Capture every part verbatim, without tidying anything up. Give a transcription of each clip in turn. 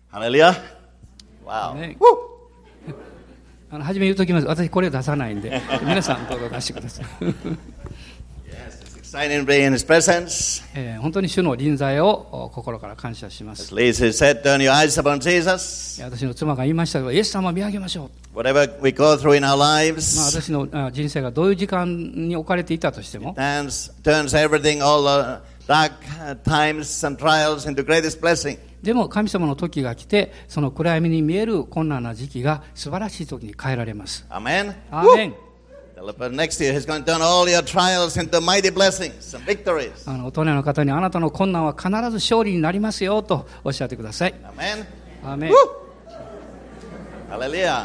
Hallelujah. Wow. ね、あの初め言うときます。私これ出さないんで皆さんどうぞ出してください。 Exciting to be in His presence. えー、本当に主の臨在を心から感謝します。 As Lisa said, turn your eyes upon Jesus. 私の妻が言いましたけど、イエス様を見上げましょう。 Whatever we go through in our まあ、 lives, 私の人生がどういう時間に置かれていたとしても、 turns, turns everything, all the dark times and trials into greatest blessing. でも神様の時が来て、その暗闇に見える困難な時期が素晴らしい時に変えられます。 Amen. アーメン。 Tell the person next to you, He's going to turn all your trials into mighty blessings and victories. あの大人の方に、あなたの困難は必ず勝利になりますよとおっしゃってください。 Amen. アーメン。 Hallelujah.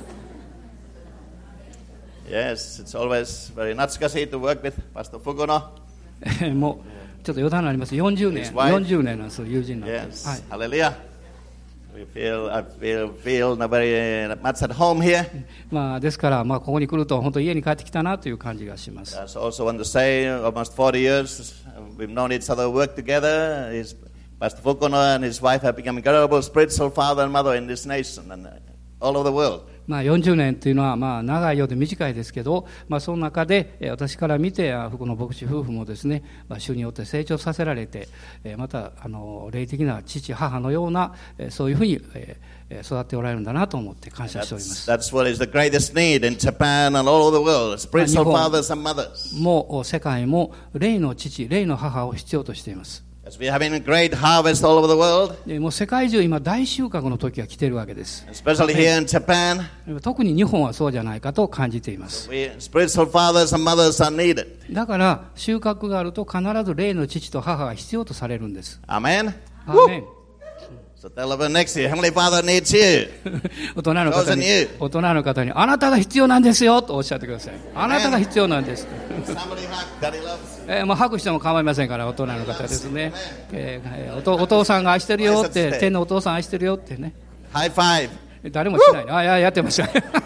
Yes, it's always very natsukashi to work with Pastor Fukuno. もうちょっと余談になります。よんじゅうねん、 His wife. よんじゅうねんなんです、友人なんで。 Yes. はい。 Hallelujah. We feel, I feel, feel very much at home here. まあ、ですから、まあ、ここに来ると本当家に帰ってきたなという感じがします。 I also want to say, almost forty years we've known each other, worked together. His, Pastor Fukuno and his wife have become incredible spiritual father and mother in this nation and all over the world. まあ、よんじゅうねんというのはまあ長いようで短いですけど、まあ、その中で私から見て福野牧師夫婦もですね、まあ、主によって成長させられて、またあの霊的な父母のようなそういうふうに育っておられるんだなと思って感謝しております。 That's, that's what is the greatest need in Japan and all over the world, spiritual fathers and mothers. もう世界も霊の父、霊の母を必要としています。 As we are having a great harvest all over the world, もう世界中今大収穫の時が来ているわけです。 especially here in Japan, 特に日本はそうじゃないかと感じています。 we, spiritual fathers and mothers are needed. だから収穫があると必ず霊の父と母が必要とされるんです。 Amen. アーメン。 So tell the person next to you, Heavenly Father needs you. 大人の方に、大人の方に、あなたが必要なんですよとおっしゃってください。あなたが必要なんです。えー、もう拍手しても構いませんから、大人の方ですね。えー、お, とお父さんが愛してるよって、天のお父さん愛してるよってね。 ハイファイブ。誰もしない。あ、いや、やってました。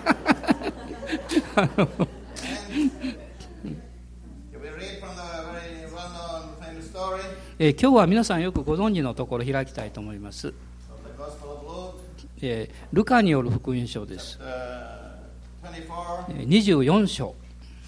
えー、今日は皆さんよくご存知のところ開きたいと思います。えー、ルカによる福音書です。にじゅうよん章。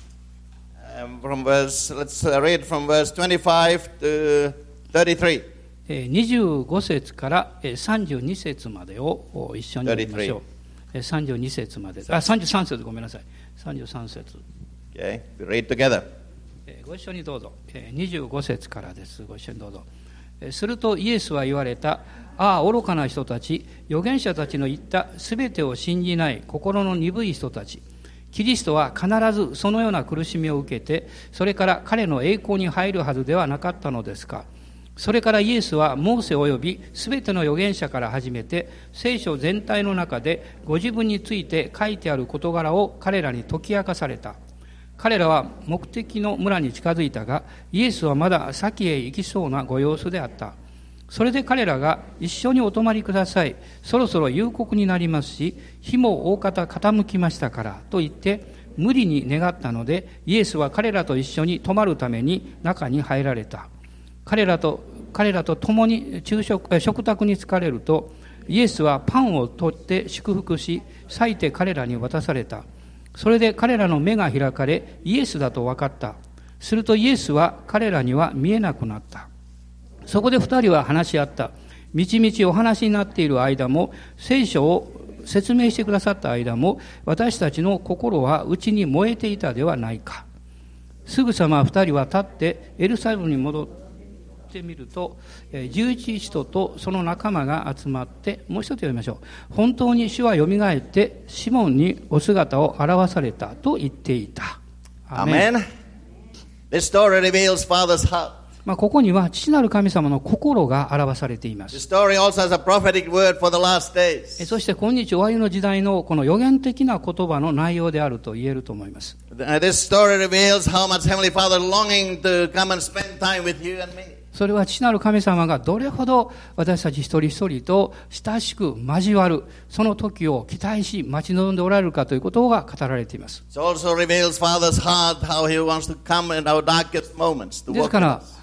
From verse, let's read from verse twenty-five to thirty-three. にじゅうご節からさんじゅうに節までを一緒に読みましょう。さんじゅうに節まで。あ、さんじゅうさん節ごめんなさい。さんじゅうさん節。 Okay, we read together. ご一緒にどうぞ。にじゅうご節からです。ご一緒にどうぞ。するとイエスは言われた。ああ、愚かな人たち、預言者たちの言ったすべてを信じない心の鈍い人たち。キリストは必ずそのような苦しみを受けて、それから彼の栄光に入るはずではなかったのですか。それからイエスはモーセ及びすべての預言者から始めて、聖書全体の中でご自分について書いてある事柄を彼らに解き明かされた。彼らは目的の村に近づいたが、イエスはまだ先へ行きそうなご様子であった。それで彼らが一緒にお泊まりください。そろそろ夕刻になりますし、日も大方傾きましたからと言って無理に願ったので、イエスは彼らと一緒に泊まるために中に入られた。彼らと彼らと共に昼食食卓に疲れると、イエスはパンを取って祝福し、裂いて彼らに渡された。それで彼らの目が開かれ、イエスだと分かった。するとイエスは彼らには見えなくなった。そこで二人は話し合った。みちみちお話になっている間も、聖書を説明してくださった間も、私たちの心は内に燃えていたではないか。すぐさま二人は立ってエルサレムに戻ってみると、十一使徒とその仲間が集まって、もう一つ読みましょう。本当に主はよみがえってシモンにお姿を現されたと言っていた。 アメン。This story reveals Father's heart. まあ、ここには父なる神様の心が表されています。 The story also has a prophetic word for the last days. そして今日終わりの時代のこの予言的な言葉の内容であると言えると思います。 This story reveals how much Heavenly Father longing to come and spend time with you and me. それは父なる神様がどれほど私たち一人一人と親しく交わるその時を期待し待ち望んでおられるかということが語られています。 It also reveals Father's heart how He wants to come in our darkest moments to walk with us. ですから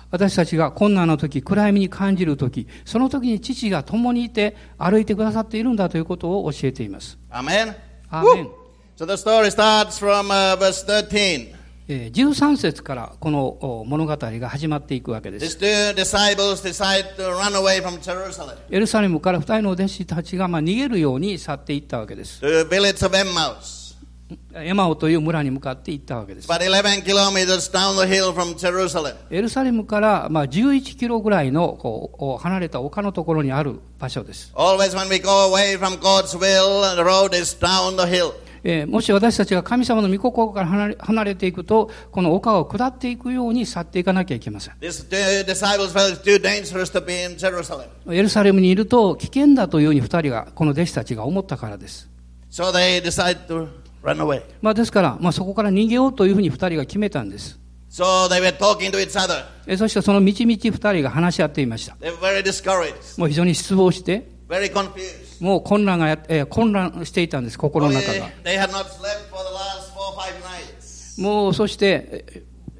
私たちが困難な時、暗闇に感じる時、その時に父が共にいて歩いてくださっているんだということを教えています。 アーメン。 アーメン。 So the story starts from、uh, verse thirteen. じゅうさん節からこの物語が始まっていくわけです。 These two disciples decide to run away from Jerusalem. エルサレムから二人の弟子たちがまあ逃げるように去っていったわけです。 To the village of Emmaus. エマオという村に向かって行ったわけです。 About eleven kilometers down the hill from Jerusalem. エルサレムからまあじゅういちキロぐらいのこう離れた丘のところにある場所です。 Always when we go away from God's will, the road is down the hill. えー、もし私たちが神様の御心から離れ、離れていくと、この丘を下っていくように去っていかなきゃいけません。 These two disciples felt too dangerous to be in Jerusalem. エルサレムにいると危険だというふうに二人が、この弟子たちが思ったからです。 So they decided to run away. まあですから、まあ、そこから逃げようというふうに二人が決めたんです。 So they were talking to each other. えそしてそのみちみち二人が話し合っていました。 They were very discouraged. もう非常に失望して、 Very confused. もう混乱がや、えー、混乱していたんです、心の中が。 They had not slept for the last four or five nights. もうそして、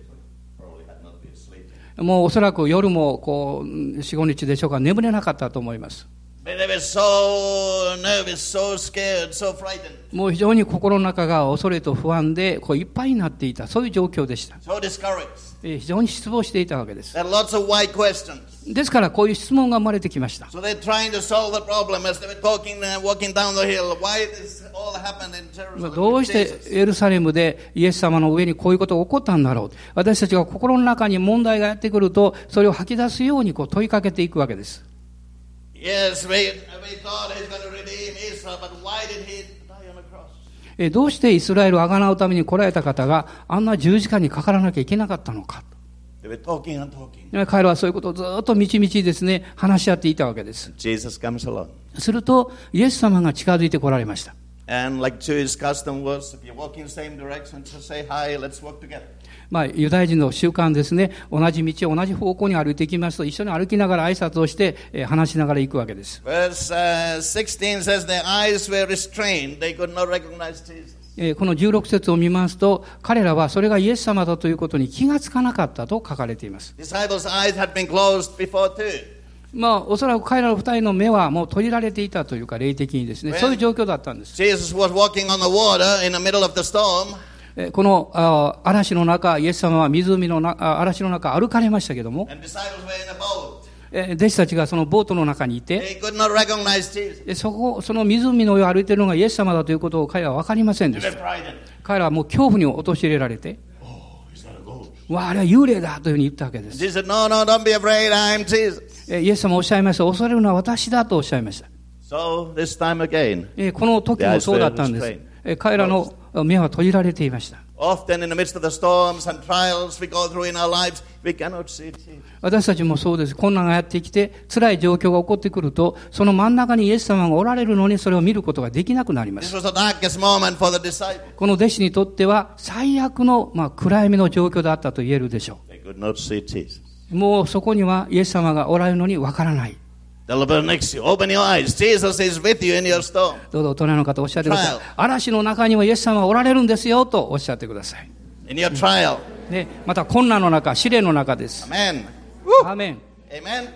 もうおそらく夜もこうよん、ごにちでしょうか、眠れなかったと思います。 They were so nervous, so scared, so frightened. もう非常に心の中が恐れと不安でこういっぱいになっていた、そういう状況でした。 So discouraged. 非常に失望していたわけです。 There are lots of why questions. ですからこういう質問が生まれてきました。 So they're trying to solve the problem as they were talking, uh, walking down the hill. Why this all happened in Jerusalem? どうしてエルサレムでイエス様の上にこういうことが起こったんだろう。私たちが心の中に問題がやってくると、それを吐き出すようにこう問いかけていくわけです。 Yes, we, we thought he's going to redeem Israel, but why did he die on the cross? えどうしてイスラエルをあがなうために来られた方があんな十字架にかからなきゃいけなかったのか。 They were talking and talking. 彼らはそういうことをずっとみちみちですね、話し合っていたわけです。 Jesus comes along. すると、イエス様が近づいてこられました。 And like Jewish custom was, if you walk in the same direction, just say, hi, let's walk together. まあ、ユダヤ人の習慣ですね、同じ道を同じ方向に歩いていきますと、一緒に歩きながら挨拶をして、えー、話しながら行くわけです。 Verse、uh, sixteen says their eyes were restrained. They could not recognize Jesus. えー、このじゅうろく節を見ますと、彼らはそれがイエス様だということに気がつかなかったと書かれています。 Disciples' eyes had been closed before too. まあ、おそらく彼らの二人の目はもう閉じられていたというか、霊的にですね、そういう状況だったんです。 Jesus was walking on the water in the middle of the storm. このあ嵐の中、イエス様は湖のな嵐の中歩かれましたけども、弟子たちがそのボートの中にいて、そこその湖の上を歩いているのがイエス様だということを彼らは分かりませんでした。彼らはもう恐怖に陥れられて、わあ、あれは幽霊だというふうに言ったわけです。 Jesus said, no, no, don't be afraid, I am Jesus. イエス様おっしゃいました。恐れるのは私だとおっしゃいました。 So this time again, この時もそうだったんです。彼らの目は閉じられていました。 Often in the midst of the storms and trials we go through in our lives, we cannot see Jesus. 私たちもそうです。困難がやってきて、辛い状況が起こってくると、その真ん中にイエス様がおられるのにそれを見ることができなくなります。 This was the darkest moment for the disciples. この弟子にとっては最悪の、まあ、暗闇の状況だったと言えるでしょう。 They could not see Jesus. もうそこにはイエス様がおられるのにわからない。 The Lord next to you. Open your eyes. Jesus is with you in your storm. どうぞ大人の方おっしゃってください。嵐の中にはイエス様がおられるんですよとおっしゃってください。 In your trial. ね、また困難の中、試練の中です。 Amen. アーメン。 Amen.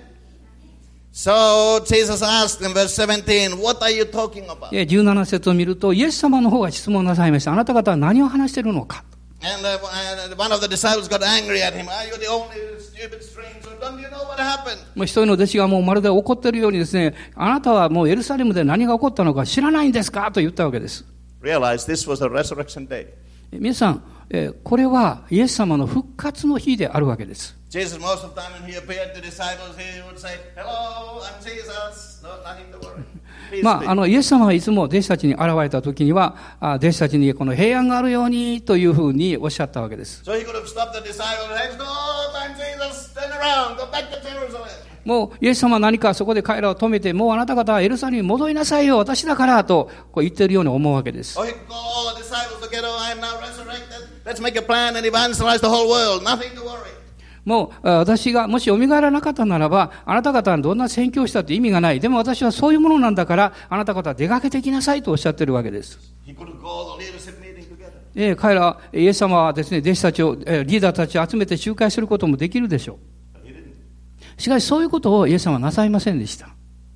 So Jesus asked in verse seventeen, what are you talking about? じゅうなな節を見ると、イエス様の方が質問なさいました。あなた方は何を話しているのか。 And uh, one of the disciples got angry at him. Are you the only stupid stranger? Don't you know what happened? もう一人の弟子がもうまるで怒っているようにですね、あなたはもうエルサレムで何が起こったのか知らないんですかと言ったわけです。 Realize this was a resurrection day. 皆さん、えー、これはイエス様の復活の日であるわけです。 Jesus, most of the time when he appeared to disciples, he would say, Hello, I'm Jesus. No, nothing to worry. まあ、あのイエス様はいつも弟子たちに現れたときには、あ弟子たちにこの平安があるようにというふうにおっしゃったわけです。 So he could have stopped the disciples and said, No, I'm Jesus. Turn around, go back to Jerusalem. もうイエス様は何かそこで彼らを止めて、もうあなた方はエルサレムに戻りなさいよ、私だからとこう言っているように思うわけです。 Or he could call all the disciples together, I am now resurrected. Let's make a plan and evangelize the whole world. Nothing to worry. もう私がもし蘇らなかったならば、あなた方はどんな宣教したって意味がない。でも私はそういうものなんだから、あなた方は出かけてきなさいとおっしゃっているわけです。えー、彼ら、イエス様はですね、弟子たちを、リーダーたちを集めて集会することもできるでしょう。 しかしそういうことをイエス様はなさいませんでした。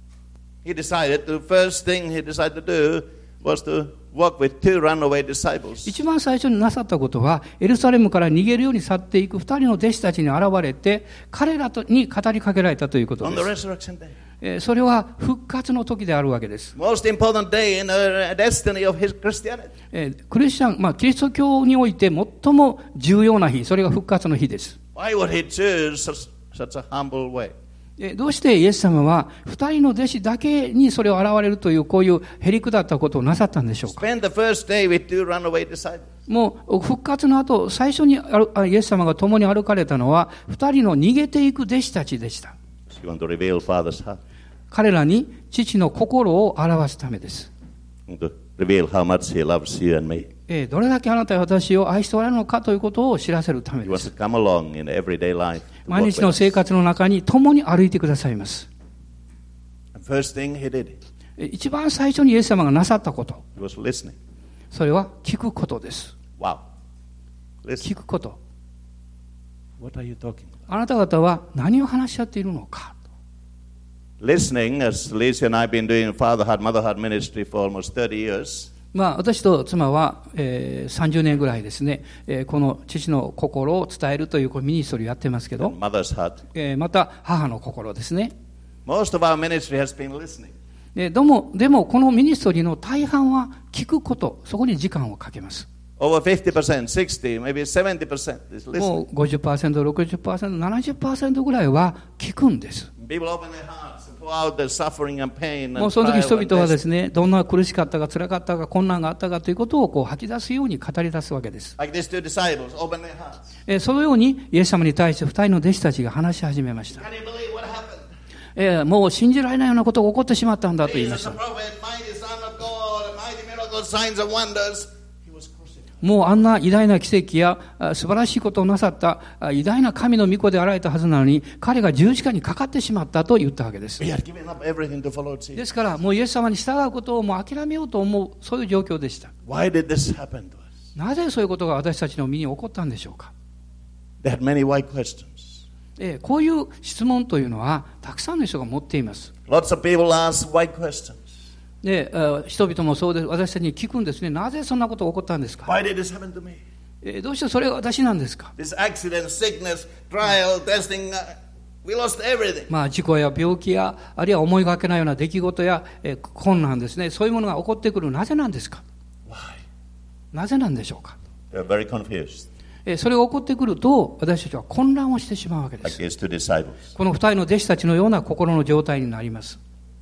He decided, the first thing he decided to do was to walk with two runaway disciples. 一番最初になさったことは、エルサレムから逃げるように去っていく二人の弟子たちに現れて、彼らに語りかけられたということで On the す。 resurrection day. えーそれは復活の時であるわけです。 Most important day in the destiny of his Christianity. えークリスチャン、まあ、キリスト教において最も重要な日、それが復活の日です。 Why would he choose such, such a humble way? えーどうしてイエス様は二人の弟子だけにそれを現れるというこういうへりくだったことをなさったんでしょうか。 Spend the first day with two runaway disciples. もう復活の後、最初にあイエス様が共に歩かれたのは二人の逃げていく弟子たちでした。 He wanted to reveal Father's heart. 彼らに父の心を表すためです。 He wanted to reveal how much he loves you and me. えーどれだけあなたや私を愛しておられるのかということを知らせるため He で wants す。 to come along in everyday life. to 毎 walk 日の with 生 us. 活の中に共に歩いてくださいます。 The first thing he did, えー一番最初にイエス様がなさったこと、 he was listening. それは聞くことです。 Wow. Listen. 聞くこと。 What are you talking about? あなた方は何を話し合っているのか。 Listening, as Lisa and I have been doing Father Heart, Mother Heart ministry for almost thirty years. まあ、私と妻は、えー、さんじゅうねんぐらいですね、えーこの父の心を伝えるというこうミニストリーをやってますけど、 Mother's heart. えーまた母の心ですね。 Most of our ministry has been listening. ででも、でもこのミニストリーの大半は聞くこと、そこに時間をかけます。 Over fifty percent, sixty, maybe seventy percent is も listening. う ごじゅっパーセント、ろくじゅっパーセント、ななじゅっパーセントぐらいは聞くんです。 People open their hearts and pour out their suffering and pain もう and その時 trial 人 and 々はで test. すね、どんな苦しかったか辛かったか困難があったかということをこう吐き出すように語り出すわけです。 Like these two disciples, open their hearts. えーそのようにイエス様に対して二人の弟子たちが話し始めました。 Can you believe what happened? えーもう信じられないようなことが起こってしまったんだと言いまし Jesus, た the。prophet, mighty Son of God, mighty miracles, signs and wonders. He was crucified. もうあんな偉大な奇跡やあ素晴らしいことをなさったあ偉大な神の御子であられたはずなのに、彼が十字架にかかってしまったと言ったわけです。 He had given up everything to follow Jesus. ですからもうイエス様に従うことをもう諦めようと思う、そういう状況でした。 Why did this happen to us? なぜそういうことが私たちの身に起こったんでしょうか。 They had many why questions. えーこういう質問というのはたくさんの人が持っています。 Lots of people ask why questions. で、えー人々もそうです。私たちに聞くんですね。なぜそんなことが起こったんですか。 Why did this happen to me? えーどうしてそれが私なんですか。 This accident, sickness, trial, testing, uh, we lost everything. まあ、事故や病気やあるいは思いがけないような出来事や、えー困難ですね、そういうものが起こってくる。なぜなんですか。 Why? なぜなんでしょうか。 They were very confused. えーそれが起こってくると私たちは混乱をしてしまうわけで Like す。 these two disciples. この二人の弟子たちのような心の状態になります。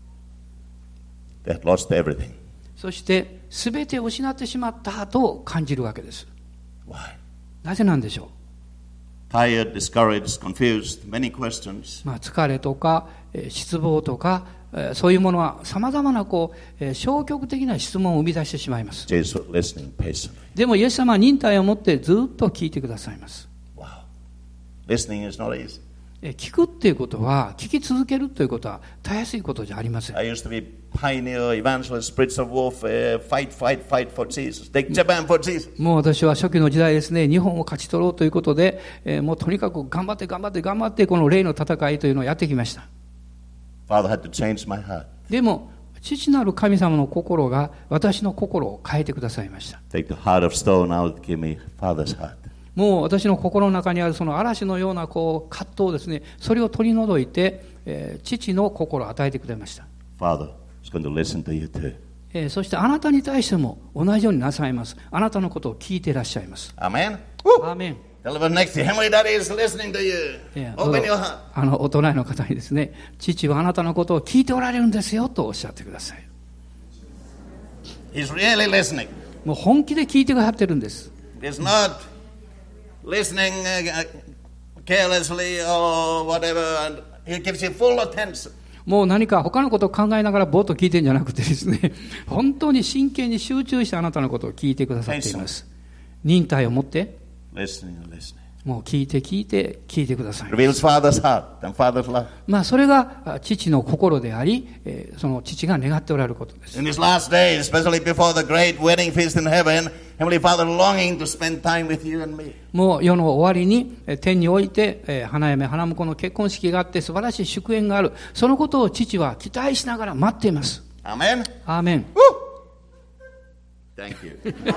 They had lost everything. そして全てを失ってしまったと感じるわけです。 Why? なぜなんでしょ Tired, discouraged, confused, many questions. う。まあ、疲れとか、えー失望とか、えーそういうものはさまざまなこう、えー消極的な質問を生み出してしまいます。 Jesus was listening patiently. でもイエス様は忍耐を持ってずっと聞いてくださいます。 Wow. Listening is not easy. えー聞くっていうことは、聞き続けるということはたやすいことじゃありません。 I used to be pioneer, evangelist, spirits of warfare, fight, fight, fight for Jesus. Take Japan for Jesus. もう私は初期の時代ですね、日本を勝ち取ろうということで、えーもうとにかく頑張って頑張って頑張ってこの霊の戦いというのをやってきました。 Father had to change my heart. でも父なる神様の心が私の心を変えてくださいました。 Take the heart of stone out, give me Father's heart. もう私の心の中にあるその嵐のようなこう葛藤ですね、それを取り除いて、えー父の心を与えてくれました。 Father is going to listen to you too. えーそしてあなたに対しても同じようになさいます。あなたのことを聞いていらっしゃいます。 Amen? アーメン。 Tell the one next to you, Heavenly Daddy is listening to you. えーどう Open ぞ your heart. あのお隣の方にですね、父はあなたのことを聞いておられるんですよとおっしゃってください。 He's really listening. もう本気で聞いてくださってるんです。 He's not listening uh, carelessly or whatever, and he gives you full attention. もう何か他のことを考えながらぼーっと聞いてるんじゃなくてですね、本当に真剣に集中してあなたのことを聞いてくださっています。忍耐を持って、 Listening and listening. もう聞いて聞いて聞いてください。 Reveals Father's heart and Father's love. まあそれが父の心であり、えーその父が願っておられることです。 In his last days, especially before the great wedding feast in heaven, Heavenly Father longing to spend time with you and me. もう世の終わりにえー天において、えー花嫁花婿の結婚式があって素晴らしい祝宴がある。そのことを父は期待しながら待っています。 Amen? アーメン。 Thank you.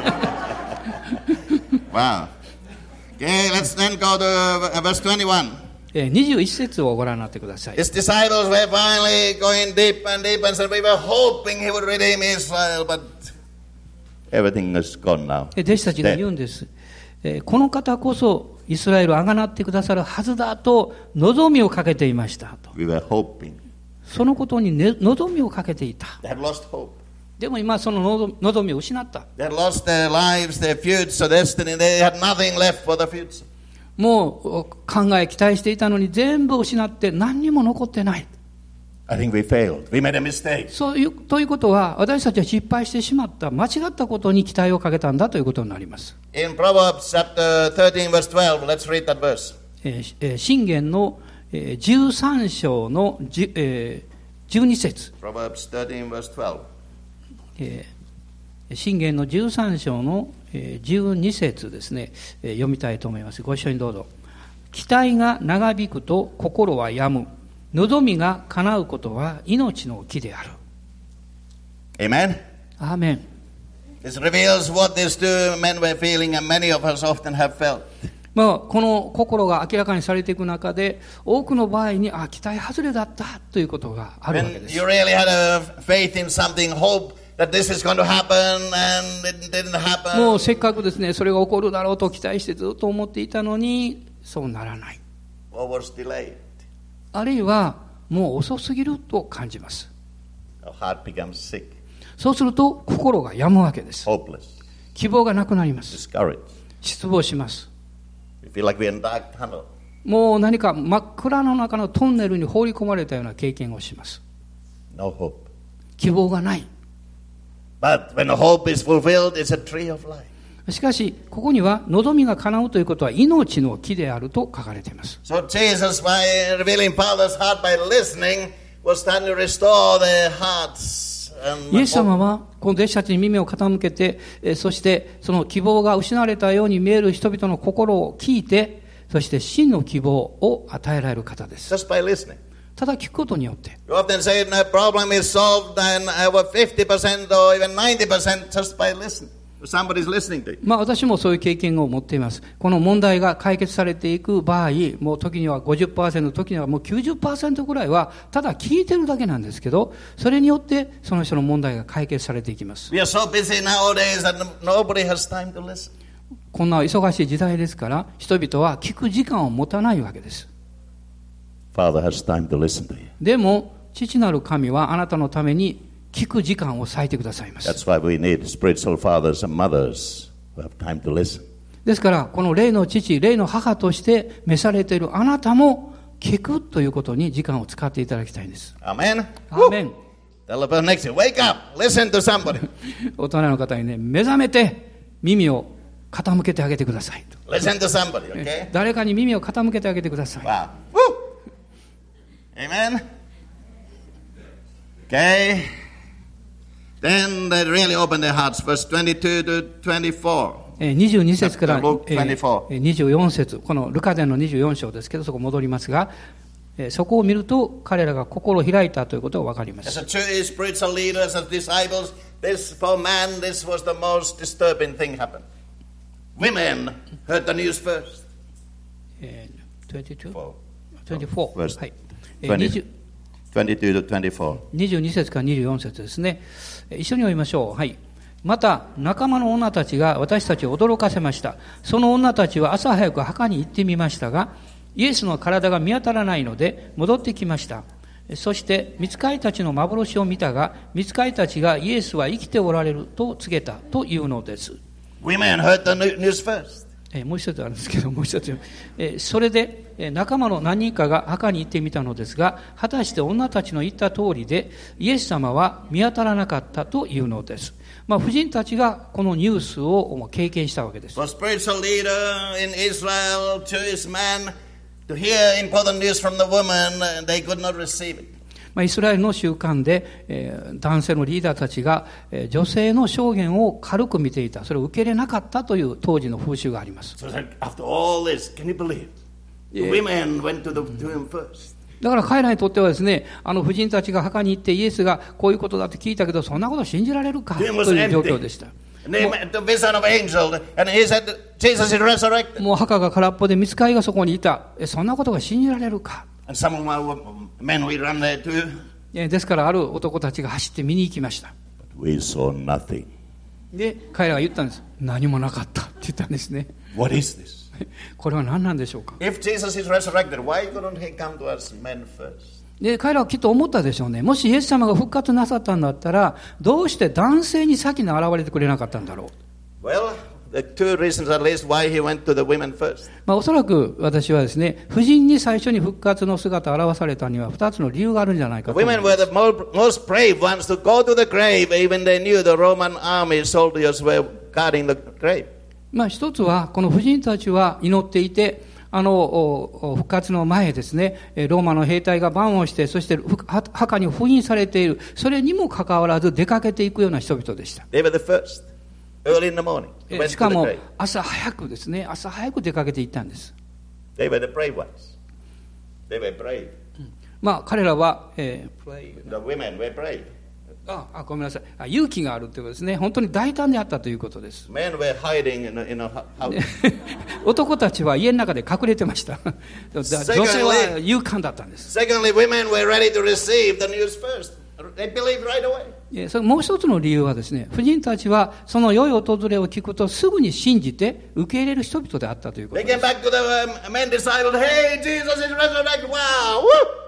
Wow. Okay, let's then go to uh, verse twenty-one. えーにじゅういち節をご覧になってください。 His disciples were finally going deep and deep and said, we were hoping he would redeem Israel, but everything is gone now. えー弟子たちが言うんです。えーこの方こそイスラエルをあがなってくださるはずだと望みをかけていましたと。 We were hoping. そのことに、ね、望みをかけていた。 They had lost hope. でも今その望望みを失った。 They had lost their lives, their future, destiny. They had nothing left for the future. もう考え期待していたのに全部失って何にも残ってない。 I think we failed. We made a mistake. そういうということは私たちは失敗してしまった間違ったことに期待をかけたんだということになります。 In Proverbs chapter thirteen, verse twelve, let's read that verse. えーえー箴言のえーじゅうさん章のじゅ、えーじゅうに節。 Proverbs thirteen, verse twelve. えー箴言のじゅうさん章のえーじゅうに節ですね、えー読みたいと思います。ご一緒にどうぞ。期待が長引くと心は病む。望みが叶うことは命の木である。 Amen? アーメン。 This reveals what these two men were feeling, and many of us often have felt. まあ、この心が明らかにされていく中で多くの場合にあ期待外れだったということがあるわけ When です。 you really had a faith in something, hope that this is going to happen, and it didn't happen. もうせっかくですねそれが起こるだろうと期待してずっと思っていたのにそうならない。 Or was delayed. あるいはもう遅すぎると感じます。 Our heart becomes sick, そうすると心が病むわけです。 hopeless, 希望がなくなります。 discouraged. 失望します。 We feel like we're in a dark tunnel. もう何か真っ暗の中のトンネルに放り込まれたような経験をします。 No hope. 希望がない。 But when the hope is fulfilled, it's a tree of life. しかしここには望みが叶うということは命の木であると書かれています。 So Jesus, by revealing Father's heart by listening, was trying to restore their hearts. And イエス様はこの弟子たちに耳を傾けて、えそしてその希望が失われたように見える人々の心を聞いて、そして真の希望を与えられる方です。 just by listening. ただ聞くことによって。 You often say a problem is solved and over fifty percent or even ninety percent just by listening. Somebody's listening to you. まあ私もそういう経験を持っています。この問題が解決されていく場合、もう時には ごじゅっパーセント、時にはもう きゅうじゅっパーセント ぐらいはただ聞いてるだけなんですけど、それによってその人の問題が解決されていきます。 We are so busy nowadays that nobody has time to listen. こんな忙しい時代ですから、人々は聞く時間を持たないわけです。 Father has time to listen to you. でも、父なる神はあなたのために聞く時間を割いてくださいます。 That's why we need spiritual fathers and mothers who have time to listen. ですから、この霊の父、霊の母として召されているあなたも聞くということに時間を使っていただきたいんです。 Amen? アーメン。 Tell the person next to you, wake up, listen to somebody. 大人の方にね、目覚めて耳を傾けてあげてくださいと。 Listen to somebody, okay? 誰かに耳を傾けてあげてください。 Wow. Woo! Amen? Okay. Then they really opened their hearts. Verse twenty-two to twenty-four. にじゅうに節から Luke twenty-four. にじゅうよん節、このルカ伝のにじゅうよん章ですけど、そこ戻りますが、そこを見ると彼らが心を開いたということが分かりま As す。 a church, spiritual leaders, as disciples, this for man, this was the most disturbing thing happened. Women heard the news first. えー、にじゅうに? Four. にじゅうよん、 Verse はい。えー twenty, 22 to twenty-four. にじゅうに節からにじゅうよん節ですね。一緒に読みましょう。はい。また仲間の女たちが私たちを驚かせました。その女たちは朝早く墓に行ってみましたが、イエスの体が見当たらないので戻ってきました。そして御使いたちの幻を見たが、御使いたちがイエスは生きておられると告げたというのです。 Women heard the news first. えー、もう一つあるんですけど、もう一つ、えー、それで、えー、仲間の何人かが墓に行ってみたのですが、果たして女たちの言った通りでイエス様は見当たらなかったというのです。まあ、婦人たちがこのニュースを経験したわけです。 For spiritual leader in Israel, Jewish man, to hear important news from the woman, they could not receive it. まあ、イスラエルの習慣で、えー、男性のリーダーたちが、えー、女性の証言を軽く見ていた。それを受け入れなかったという当時の風習があります。 So after all this, can you believe? The women went to the tomb first. だから彼らにとってはですね、あの婦人たちが墓に行ってイエスがこういうことだって聞いたけど、そんなこと信じられるかという状況でした。もう墓が空っぽで見つかりがそこにいた。そんなことが信じられるか。ですからある男たちが走って見に行きました。 We saw nothing. で彼らが言ったんです。何もなかったって言ったんですね。 What is this? これは何なんでしょうか。 If Jesus is resurrected, why couldn't he come to us men first? で彼らはきっと思ったでしょうね。もしイエス様が復活なさったんだったら、どうして男性に先に現れてくれなかったんだろう。 Well, the two reasons at least why he went to the women first. まあ、おそらく私はですね、婦人に最初に復活の姿を現されたには二つの理由があるんじゃないかと思います。 The women were the most brave ones to go to the grave, even they knew the Roman army soldiers were guarding the grave. まあ、一つはこの婦人たちは祈っていて、あの復活の前ですね、ローマの兵隊が番をして、そして墓に封印されている、それにもかかわらず出かけていくような人々でした。 They were the first, early in the morning, went to the grave. しかも朝早くですね、朝早く出かけていったんです。 They were the brave ones. They were brave. まあ彼らは、えー、 The women were brave. ああごめんなさいあ、勇気があるということですね。本当に大胆であったということです。 Men were hiding in a, in a house. 男たちは家の中で隠れてました。女性は勇敢だったんです。 Secondly, women were ready to receive the news first. They believed right away. それもう一つの理由はですね、婦人たちはその良い訪れを聞くとすぐに信じて受け入れる人々であったということです。 They came back to the men disciples. Hey, Jesus is resurrected. Wow! Woo!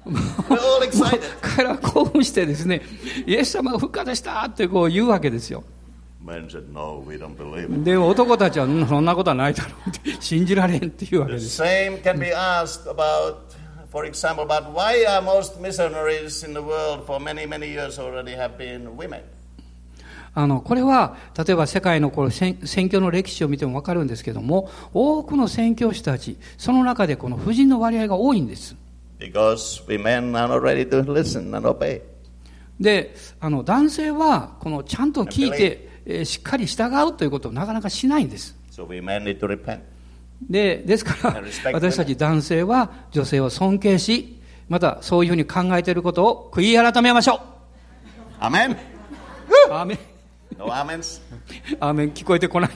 彼らは興奮してですね、イエス様が復活したってこう言うわけですよ。 Said, no, we don't believe. でも男たちはそんなことはないだろうって信じられんっていうわけです。 The same can be asked about, for example, about why are most missionaries in the world for many, many years already have been women? あのこれは例えば世界のこの宣教の歴史を見ても分かるんですけども、多くの宣教師たち、その中でこの婦人の割合が多いんです。 Because women are not ready to listen and obey. で、あの男性はこのちゃんと聞いて、えー、しっかり従うということをなかなかしないんです。 So women need to repent. で、ですから私たち男性は女性を尊敬し、またそういうふうに考えていることを悔い改めましょう。 アメン。 アメン。 No amens. アメン聞こえてこない。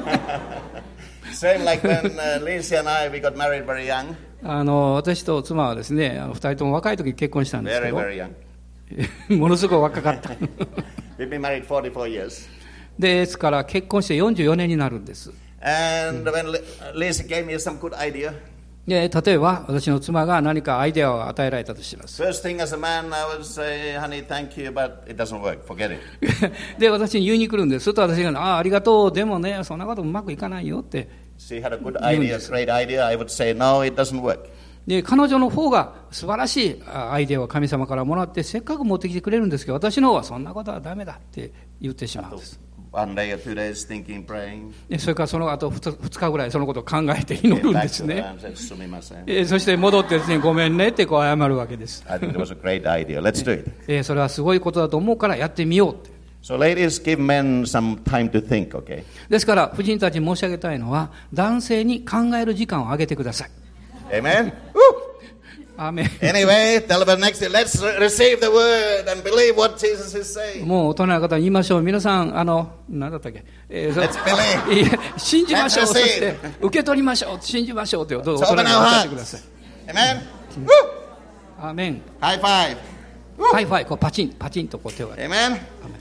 Same like when uh, Lisa and I we got married very young. あの私と妻はですね、あのふたりとも若い時に結婚したんですけど、 very, very young. ものすごい若かった。 We've been married forty-four years. ですから結婚してよんじゅうよねんになるんです。 And when Lisa gave me some good idea. で例えば私の妻が何かアイデアを与えられたとします。 First thing as a man, I would say, honey, thank you, but it doesn't work. Forget it. で私に言いに来るんです。すると私がああありがとう、でもねそんなことうまくいかないよって。 She had a good idea, great idea. I would say, no, it doesn't work. で彼女の方が素晴らしいアイデアを神様からもらってせっかく持ってきてくれるんですけど、私の方はそんなことはダメだって言ってしまうんです。 One day or two days thinking, praying. それからその後ふつかぐらいそのことを考えて祈るんですね。そして戻ってですね、ごめんねってこう謝るわけです。 I think it was a great idea. Let's do it. それはすごいことだと思うからやってみようって。 So ladies, give men some time to think, okay? ですから婦人たちに申し上げたいのは、男性に考える時間をあげてください。 Amen. アーメン。 Anyway, tell about next. Let's receive the word and believe what Jesus is saying. もう大人の方に言いましょう。皆さんあの何だったっけ？えー、 Let's believe. 信じましょう。そして受け取りましょう。信じましょうというどうぞ大人におっしゃってください。 Amen. アーメン。 High five. ハイファイこうパチンパチンとこう手を。 Amen.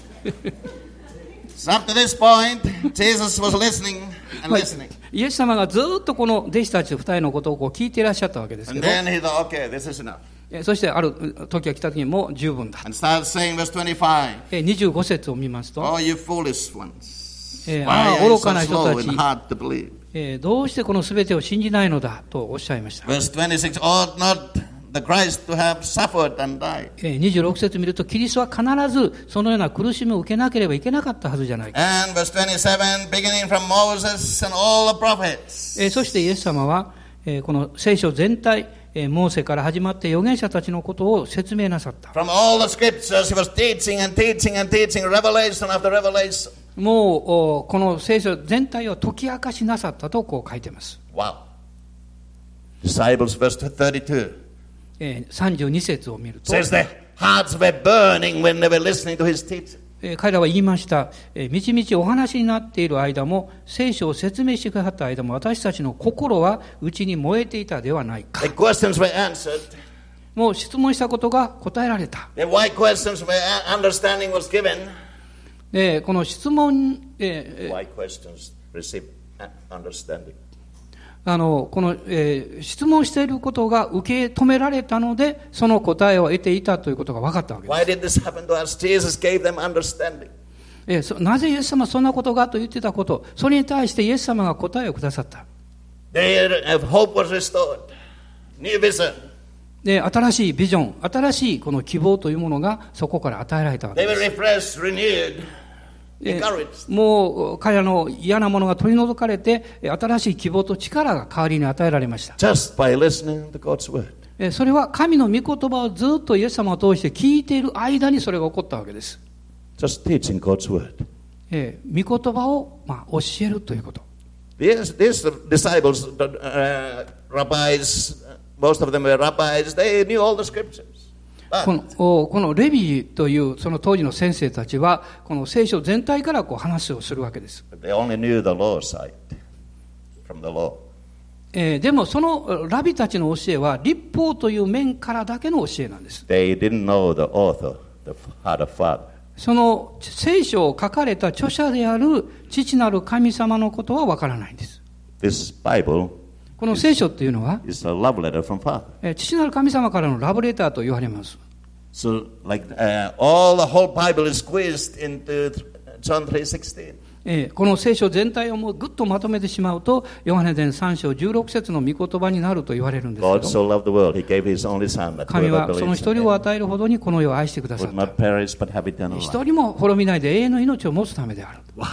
So up to this point, Jesus was listening and listening. イエス様がずっとこの弟子たち二人のことをこう聞いていらっしゃったわけですけど。 And then he thought, okay, this is enough. そしてある時が来た時にもう十分だ。 And started saying, verse twenty-five. にじゅうご節を見ますと、 Oh, you foolish ones. ああ愚かな人たち。 えー、どうしてこのすべてを信じないのだとおっしゃいました。 Verse twenty-six, ought not the Christ to have suffered and died? えー、にじゅうろく節見ると、キリストは必ずそのような苦しみを受けなければいけなかったはずじゃないか。 And verse twenty-seven, beginning from Moses and all the prophets. えー、そしてイエス様は、えー、この聖書全体、えー、モーセから始まって預言者たちのことを説明なさった。 From all the scriptures he was teaching and teaching and teaching, revelation after revelation. もうこの聖書全体を解き明かしなさったとこう書いています。 Wow. Disciples, verse thirty-two. えー、さんじゅうに節を見ると、 says their hearts were burning when they were listening to his teaching. えー、彼らは言いました。えー、みちみちお話になっている間も、聖書を説明してくださった間も、私たちの心は内に燃えていたではないか。 The questions were answered. もう質問したことが答えられた。 The why questions were understanding was given. えー、この質問、えー、 Why questions receive understanding. あのこの、えー、質問していることが受け止められたので、その答えを得ていたということが分かったわけです。 Why did this happen to us? Jesus gave them understanding. えー、そなぜイエス様はそんなことがと言ってたこと、それに対してイエス様が答えをくださった。 Their hope was restored. New vision. で、新しいビジョン、新しいこの希望というものがそこから与えられたわけ They で were す。 refreshed, renewed, え encouraged. ー、もう彼らの嫌なものが取り除かれて、新しい希望と力が代わりに与えられました。 Just by listening to God's word. えー、それは神の御言葉をずっとイエス様を通して聞いている間にそれが起こったわけです。 Just teaching God's word. えー、御言葉を、まあ、教えるということ。 These, these disciples, uh, rabbis, most of them were rabbis, they knew all the scriptures. この、このレビというその当時の先生たちはこの聖書全体からこう話をするわけです。 They only knew the law side from the law. えー、でもそのラビたちの教えは律法という面からだけの教えなんです。 They didn't know the author, the heart of Father. その聖書を書かれた著者である父なる神様のことはわからないんです。 This Bible この聖書っていうのは is a love letter from Father. えー、父なる神様からのラブレターと言われます。 So, like uh, all the whole Bible is squeezed into John three sixteen. えー、この聖書全体をもうぐっとまとめてしまうと、ヨハネ伝さん章じゅうろく節の御言葉になると言われるんですけ God ど、 so loved the world, He gave His only Son, that 神 whoever はその believes 一 in 人を Him 与えるほどにこの世を愛してくださ would った。 not perish but have eternal 一 life. 人も滅びないで永遠の命を持つためである。 Wow.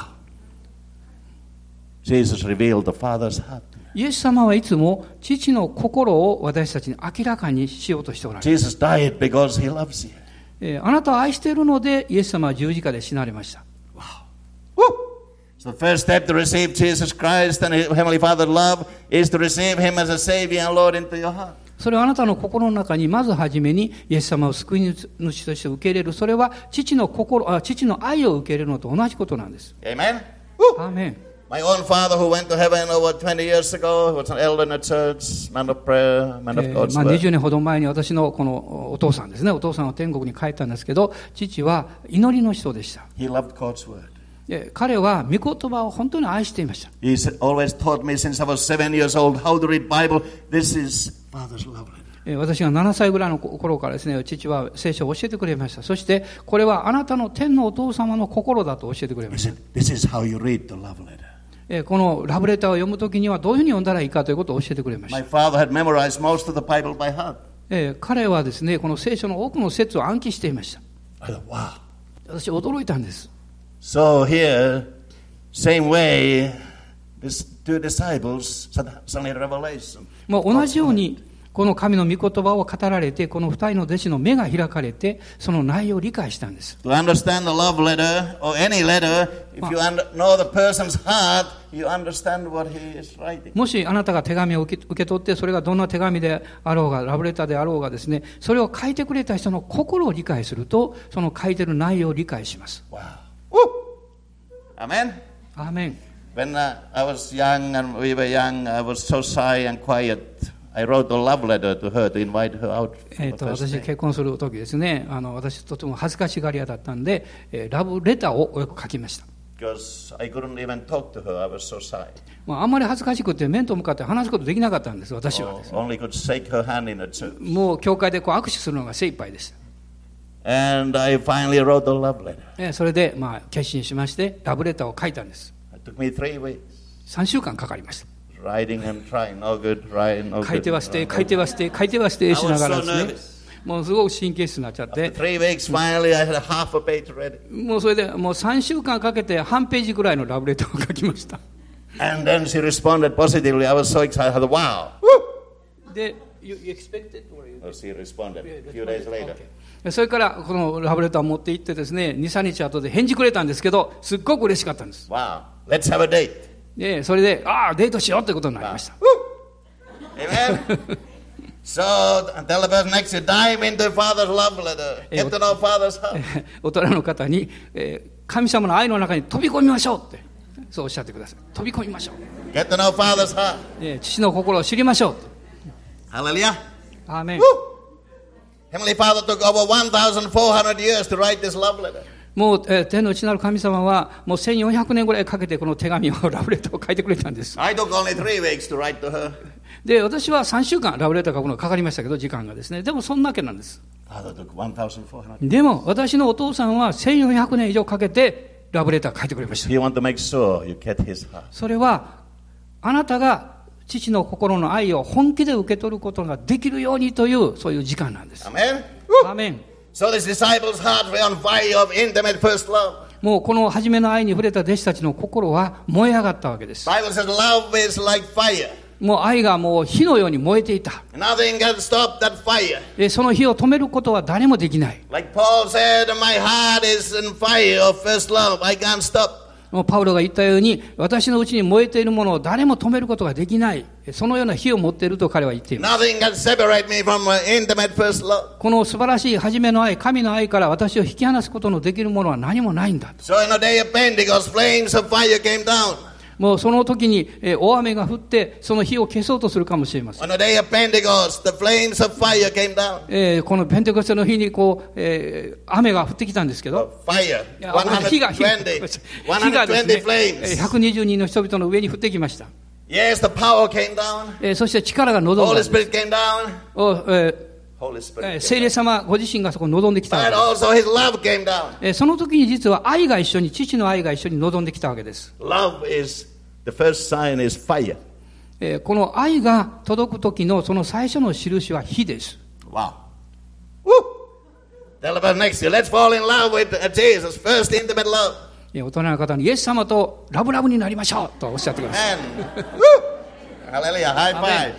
Jesus revealed the Father's heart. イエス様はいつも父の心を私たちに明らかにしようとしておられる。 Jesus died because He loves you. えー、あなたを愛しているのでイエス様は十字架で死なれました。 Wow. Woo! So the first step to receive Jesus Christ and His Heavenly Father's love is to receive Him as a Savior and Lord into your heart. それはあなたの心の中にまずはじめにイエス様を救い主として受け入れる。それは父の心、あ、父の愛を受け入れるのと同じことなんです。 Amen? アーメン。 My own father who went to heaven over twenty years ago was an elder in the church, man of prayer, man of えー God's まあ、 word. にじゅうねんほど前に私のこのお父さんですね、お父さんは天国に帰ったんですけど、父は祈りの人でした。 He loved God's word. で彼は御言葉を本当に愛していました。 He always taught me since I was seven years old how to read Bible. This is Father's love letter. えー私がななさいぐらいの頃からですね、父は聖書を教えてくれました。そしてこれはあなたの天のお父様の心だと教えてくれま He した。 said, this is how you read the love letter. えーこのラブレターを読むときにはどういうふうに読んだらいいかということを教えてくれました。 My father had memorized most of the Bible by heart. えー彼はですね、この聖書の多くの説を暗記していました。 I thought, wow. 私驚いたんです。 So here, same way, these two disciples suddenly revelation. もう同じようにこの神の御言葉を語られて、この二人の弟子の目が開かれて、その内容を理解したんです。 To understand the love letter or any letter, if you under, know the person's heart, you understand what he is writing. もしあなたが手紙を受け、受け取って、それがどんな手紙であろうが、ラブレターであろうがですね、それを書いてくれた人の心を理解すると、その書いてる内容を理解します。 Wow. Woo! Amen. アーメン。 When uh, I was young and we were young, I was so shy and quiet. I wrote a love letter to her to invite her out. えー、と私結婚する時ですね、あの私とても恥ずかしがり屋だったんで、えーラブレターをよく書きました。 Because I couldn't even talk to her. I was so shy. まあ、あんまり恥ずかしくて面と向かって話すことできなかったんです、私は Oh, ですね。 only could shake her hand in the church. もう教会でこう握手するのが精一杯でした。 And I finally wrote a love letter. えーそれでまあ決心しましてラブレターを書いたんです。 It took me three weeks. さんしゅうかんかかりました。 Riding and trying, no good, riding, no good. 書いてはして、書いてはして、書いてはしてしながらですね。もうすごく神経質になっちゃって。 Three weeks, finally, I had a half a page ready. もうそれでもうさんしゅうかんかけて半ページぐらいのラブレターを書きました。 And then she responded positively. I was so excited. I thought, wow. で、you expected? Oh, she responded a few days later. Okay. それからこのラブレターを持って行ってですね、に、さんにち後で返事くれたんですけど、すっごく嬉しかったんです。 Wow. Let's have a date. で、それで、ああ、デートしようということになりました。 Amen. So, tell the person next to you, dive into Father's love letter. Get to know Father's heart. 大人の方に、えー、神様の愛の中に飛び込みましょうって、そうおっしゃってください。飛び込みましょう。 Get to know Father's heart. えー、父の心を知りましょう。 Hallelujah. アーメン。 Heavenly Father took over one thousand four hundred years to write this love letter. もう、えー、天の内なる神様はもうせんよんひゃくねんぐらいかけてこの手紙をラブレターを書いてくれたんです。 I took only three weeks to write to her. で、私はさんしゅうかんラブレター書くのがかかりましたけど、時間がですね。でもそんなわけなんです。 Father took one thousand four hundred. でも私のお父さんはせんよんひゃくねん以上かけてラブレター書いてくれました。 He want to make sure you get his heart. それはあなたが父の心の愛を本気で受け取ることができるようにというそういう時間なんです。 アメン。 アメン。 So this disciples' hearts were on fire of intimate first love. もうこの初めの愛に触れた弟子たちの心は燃え上がったわけです。 Bible says love is like fire. もう愛がもう火のように燃えていた。 Nothing can stop that fire. で、その火を止めることは誰もできない。 Like Paul said, my heart is in fire of first love. I can't stop. もうパウロが言ったように、私のうちに燃えているものを誰も止めることができない。そのような火を持っていると彼は言っています。 Nothing can separate me from intimate first love. この素晴らしい初めの愛、神の愛から私を引き離すことのできるものは何もないんだ。 So in the day of Pentecost, flames of fire came down. もうその時に、えー、大雨が降ってその火を消そうとするかもしれません。 On the day of Pentecost, the flames of fire came down. えー、このペンテコステの日にこう、えー、雨が降ってきたんですけど、 Fire. 火が火がですね、ひゃくにじゅうにんの人々の上に降ってきました。 Yes, the power came down. えー、そして力が望んだんです。 Holy Spirit came down. お、えー聖霊様ご自身がそこに望んできたわけです。その時に実は愛が一緒に、父の愛が一緒に望んできたわけです。 Love is, the first sign is fire. この愛が届く時のその最初の印は火です。 Wow. Woo! Tell about next year. Let's fall in love with Jesus. First intimate love. 大人の方にイエス様とラブラブになりましょうとおっしゃってください。 Hallelujah. High five.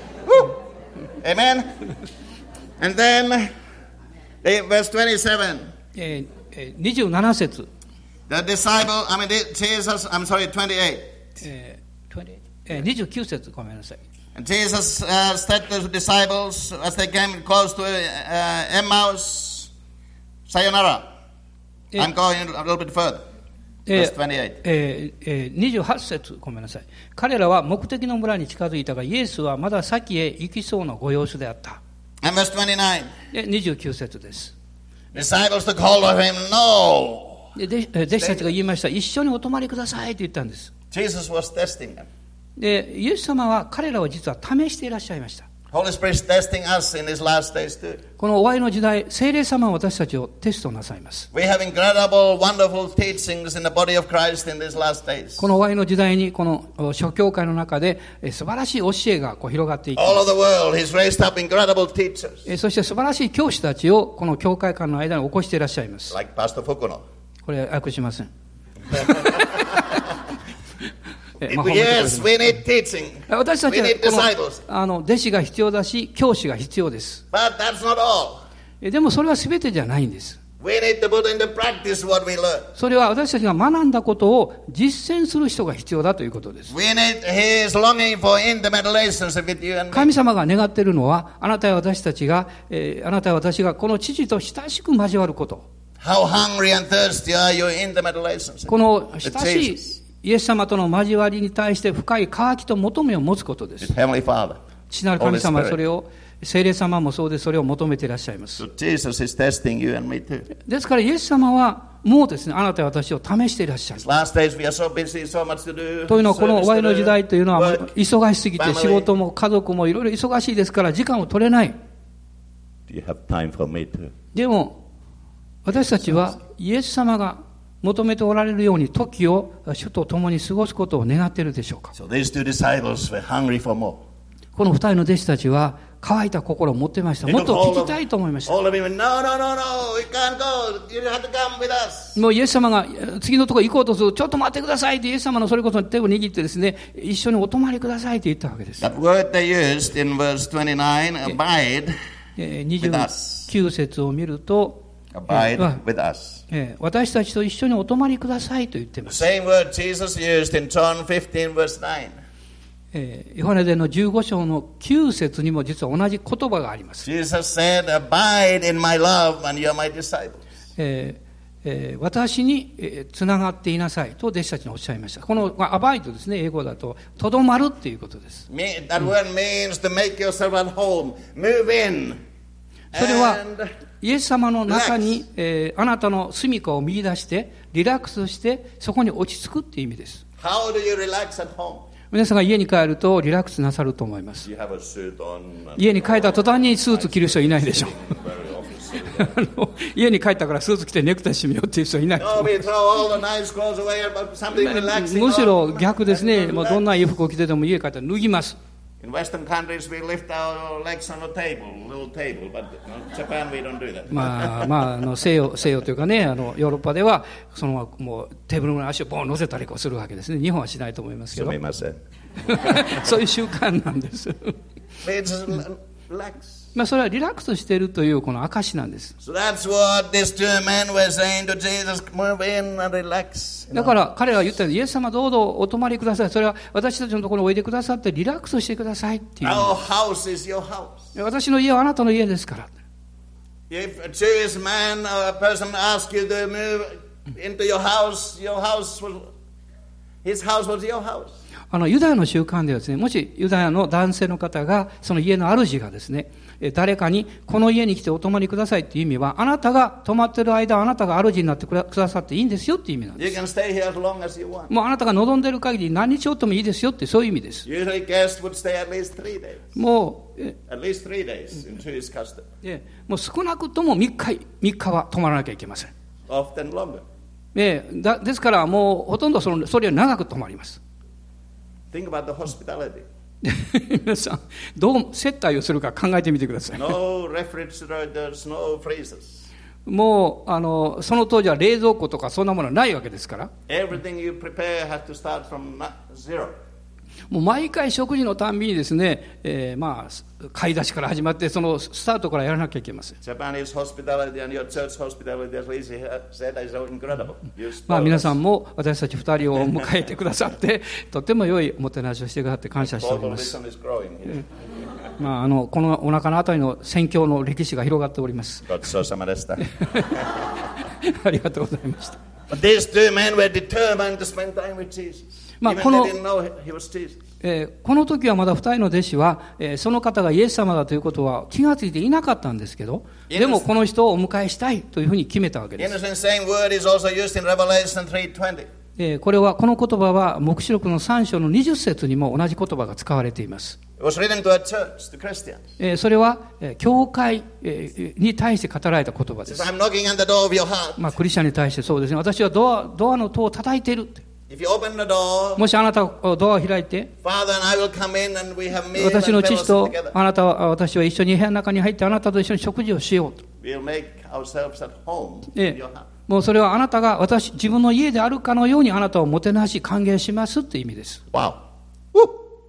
Amen. And then, verse twenty-seven. えー、にじゅうなな節。 The disciple, I mean, Jesus, I'm sorry, twenty-eight. えー、えー、にじゅうきゅう節、ごめんなさい。 And Jesus uh, said to the disciples as they came close to uh, Emmaus, Sayonara. I'm going a little bit further. Verse twenty-eight. えーえー、にじゅうはち節、ごめんなさい。彼らは目的の村に近づいたが、イエスはまだ先へ行きそうなご様子であった。 And verse twenty-nine. でにじゅうきゅう節です。 Disciples took hold of him. No. で弟子たちが言いました。一緒にお泊まりくださいと言ったんです。 Jesus was testing them. でイエス様は彼らを実は試していらっしゃいました。 Holy Spirit is testing us in these last days too. この終わりの時代、聖霊様は私たちをテストなさいます。 We have incredible, wonderful teachings in the body of Christ in these last days. この終わりの時代にこの諸教会の中で素晴らしい教えがこう広がっていきます。 All over the world, He's raised up incredible teachers. そして素晴らしい教師たちをこの教会間の間に起こしていらっしゃいます。 Like Pastor Fukuno. これは訳しません。 Yes, we need teaching. 私たちはこのあの弟子が必要だし、教師が必要です。 But that's not all. でもそれは全てじゃないんです。 We need to put into practice what we learn. それは私たちが学んだことを実践する人が必要だということです。 We need His longing for intimate relationship with you and me. 神様が願っているのは、あなたや私たちが、えー、あなたや私がこの父と親しく交わること。 How hungry and thirsty are you in intimate relationship? この親しいイエス様との交わりに対して深い渇きと求めを持つことです。父なる神様はそれを、聖霊様もそうでそれを求めていらっしゃいます。 So Jesus is testing you and me too. ですからイエス様はもうですね、あなたや私を試していらっしゃる。 Last days we are so busy, so much to do. というのはこの終わりの時代というのは忙しすぎて仕事も家族もいろいろ忙しいですから時間を取れない。 Do you have time for me too? でも私たちはイエス様が求めておられるように時を主と共に過ごすことを願っているでしょうか。 So these two disciples were hungry for more. この二人の弟子たちは乾いた心を持っていました。 They もっ took と hold 聞き of, たいと思いました。 hold of him and, no, no, no, no, we can't go. You have to come with us. もうイエス様が次のところ行こうとする。ちょっと待ってくださいってイエス様のそれこそ手を握ってですね、一緒にお泊まりくださいって言ったわけです。 That word they used in verse twenty-nine, abide えー、にじゅうきゅう節を見ると、 abide えー with us. えー私たちと一緒にお泊まりくださいと言っていま The す。 same word Jesus used in John fifteen, verse nine. えーヨハネ伝のじゅうご章のきゅう節にも実は同じ言葉があります。 Jesus said, abide in my love and you're my disciples. えーえー私に、えーつながっていなさいと弟子たちにおっしゃいました。この、まあ、アバイドですね、英語だととどまるっていうことです。 Me- That word means to make yourself at home. Move in. それは And イエス様の中に、えーあなたの住みかを見出してリラックスしてそこに落ち着くっていう意味です。 how do you relax at home? 皆さんが家に帰るとリラックスなさると思います。 You have a suit on. And 家に帰った途端にスーツ着る人いないでしょう。 very office. あの家に帰ったからスーツ着てネクタイ締めようっていう人いない。 No, we throw all the nice clothes away, but something relaxing. むし on. ろ逆ですね。 And もう relax. どんないい服を着てても家帰ったら脱ぎます。 In Western countries, we lift our legs on a table, little table, but in Japan we don't do that. まあまあ、あの西洋西洋というかね、あのヨーロッパではそのもうテーブルの足をボン乗せたりこうするわけですね。日本はしないと思いますけど、そういう習慣なんです。 It's relax. まあそれはリラックスしているというこの証なんです。 So that's what these two men were saying to Jesus, move in and relax. You だ know? から彼らは言ったように、イエス様どうぞお泊まりください。それは私たちのところにおいでくださってリラックスしてくださいっていう。 Our house is your house. 私の家はあなたの家ですから。 If a Jewish man or a person asks you to move into your house, your house will, his house was your house. あのユダヤの習慣ではですね、もしユダヤの男性の方がその家の主がですね、誰かにこの家に来てお泊まりくださいっていう意味は、あなたが泊まってる間あなたが主になってくださっていいんですよっていう意味なん You です。 can stay here as long as you want. もうあなたが望んでる限り何日おってもいいですよってそういう意味です。 Usually guests would stay at least three days. もうえ At least three days in Jewish custom. えもう少なくともみっか、みっかは泊まらなきゃいけません。 Often longer. えだですからもうほとんどそのそれより長く泊まります。 Think about the hospitality. 皆さんどう接待をするか考えてみてください。 No refrigerators, no freezers. もうあのその当時は冷蔵庫とかそんなものはないわけですから、 Everything you prepare has to start from na- zero. もう毎回食事のたんびにですね、えー、まあ買い出しから始まってそのスタートからやらなきゃいけません。 Japanese hospitality and your church hospitality, as Lizzie said, is so incredible. You まあ spoil 皆 us. さんも私たち二人を迎えてくださってとても良いおもてなしをしてくださって感謝しており Total ます。 wisdom is growing here. まああのこのお腹のあたりの宣教の歴史が広がっております。 ごちそうさまでした。 ありがとうございました。 But these two men were determined to spend time with Jesus. まあ Even この they didn't know he was Jesus. えーこの時はまだ二人の弟子は、えーその方がイエス様だということは気がついていなかったんですけど、でもこの人をお迎えしたいというふうに決めたわけ The です。 innocent same word is also used in Revelation three twenty. えーこれはこの言葉は黙示録のさん章のにじゅっ節にも同じ言葉が使われています。 It was written to a church, to Christians. えーそれは、えー教会、えーに対して語られた言葉で It す。 says, I'm knocking on the door of your heart. まあクリスチャンに対してそうですね。私はドアドアの戸を叩いているって。 If you open the door, もしあなたがドアを開いて、 Father and I will come in and we have meal and 私の父 fellowship と together. あなたは私は一緒に部屋の中に入ってあなたと一緒に食事をしようと。 We'll make ourselves at home え in your house. もうそれはあなたが私自分の家であるかのようにあなたをもてなし歓迎しますっていう意味です。 Wow. Woo.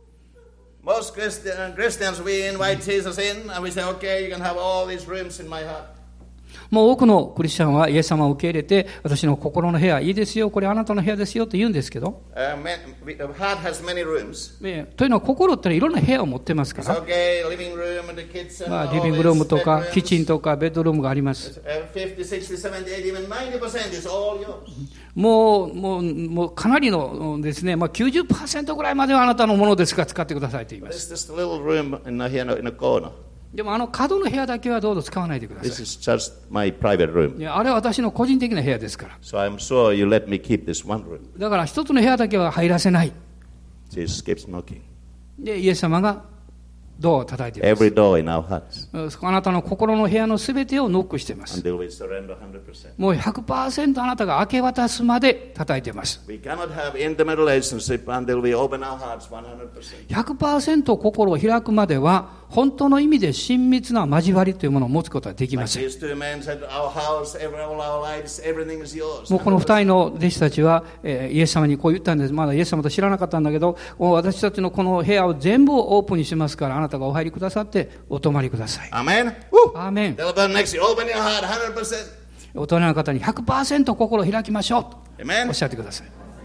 Most Christian, Christians, we invite Jesus in and we say, okay, you can have all these rooms in my heart. もう多くのクリスチャンはイエス様を受け入れて私の心の部屋いいですよ、これあなたの部屋ですよと言うんですけど、 Uh, man, we, the heart has many rooms. えーというのは心ってのはいろんな部屋を持ってますか It's ら、 okay, living room and the kitchen, まあ、 all リビングルーム these とか bedrooms. キッチンとかベッドルームがあります。 Uh, fifty, sixty, seventy, eighty, even ninety percent is all yours. もうもうもうかなりのですね、まあ、きゅうじゅっパーセントぐらいまではあなたのものですから使ってくださいと言いま But す。 it's just a little room in the, here in a corner. でもあの角の部屋だけはどうぞ使わないでくだ This さ is just my private room. い。いやあれは私の個人的な部屋ですから。 So I'm sure you let me keep this one room. だから一つの部屋だけは入らせない。 Jesus keeps knocking. でイエス様がドアを叩いています。 Every door in our hearts. あなたの心の部屋のすべてをノックしています。 Until we surrender one hundred percent. もう ひゃくパーセント あなたが明け渡すまで叩いています。 We cannot have intimate relationship until we open our hearts one hundred percent. ひゃくパーセント 心を開くまでは本当の意味で親密な交わりというものを持つことはできま Like せん。 these two men said, our house, every, all our lives, everything is yours. もうこの二人の弟子たちは、えーイエス様にこう言ったんです。まだイエス様と知らなかったんだけど、私たちのこの部屋を全部オープンにしますから、あなたがお入りくださってお泊まりください。 Amen? Woo! アーメン。 Tell the next you, open your heart one hundred percent. 大人の方に ひゃくパーセント 心を開きましょうと Amen? おっしゃってください。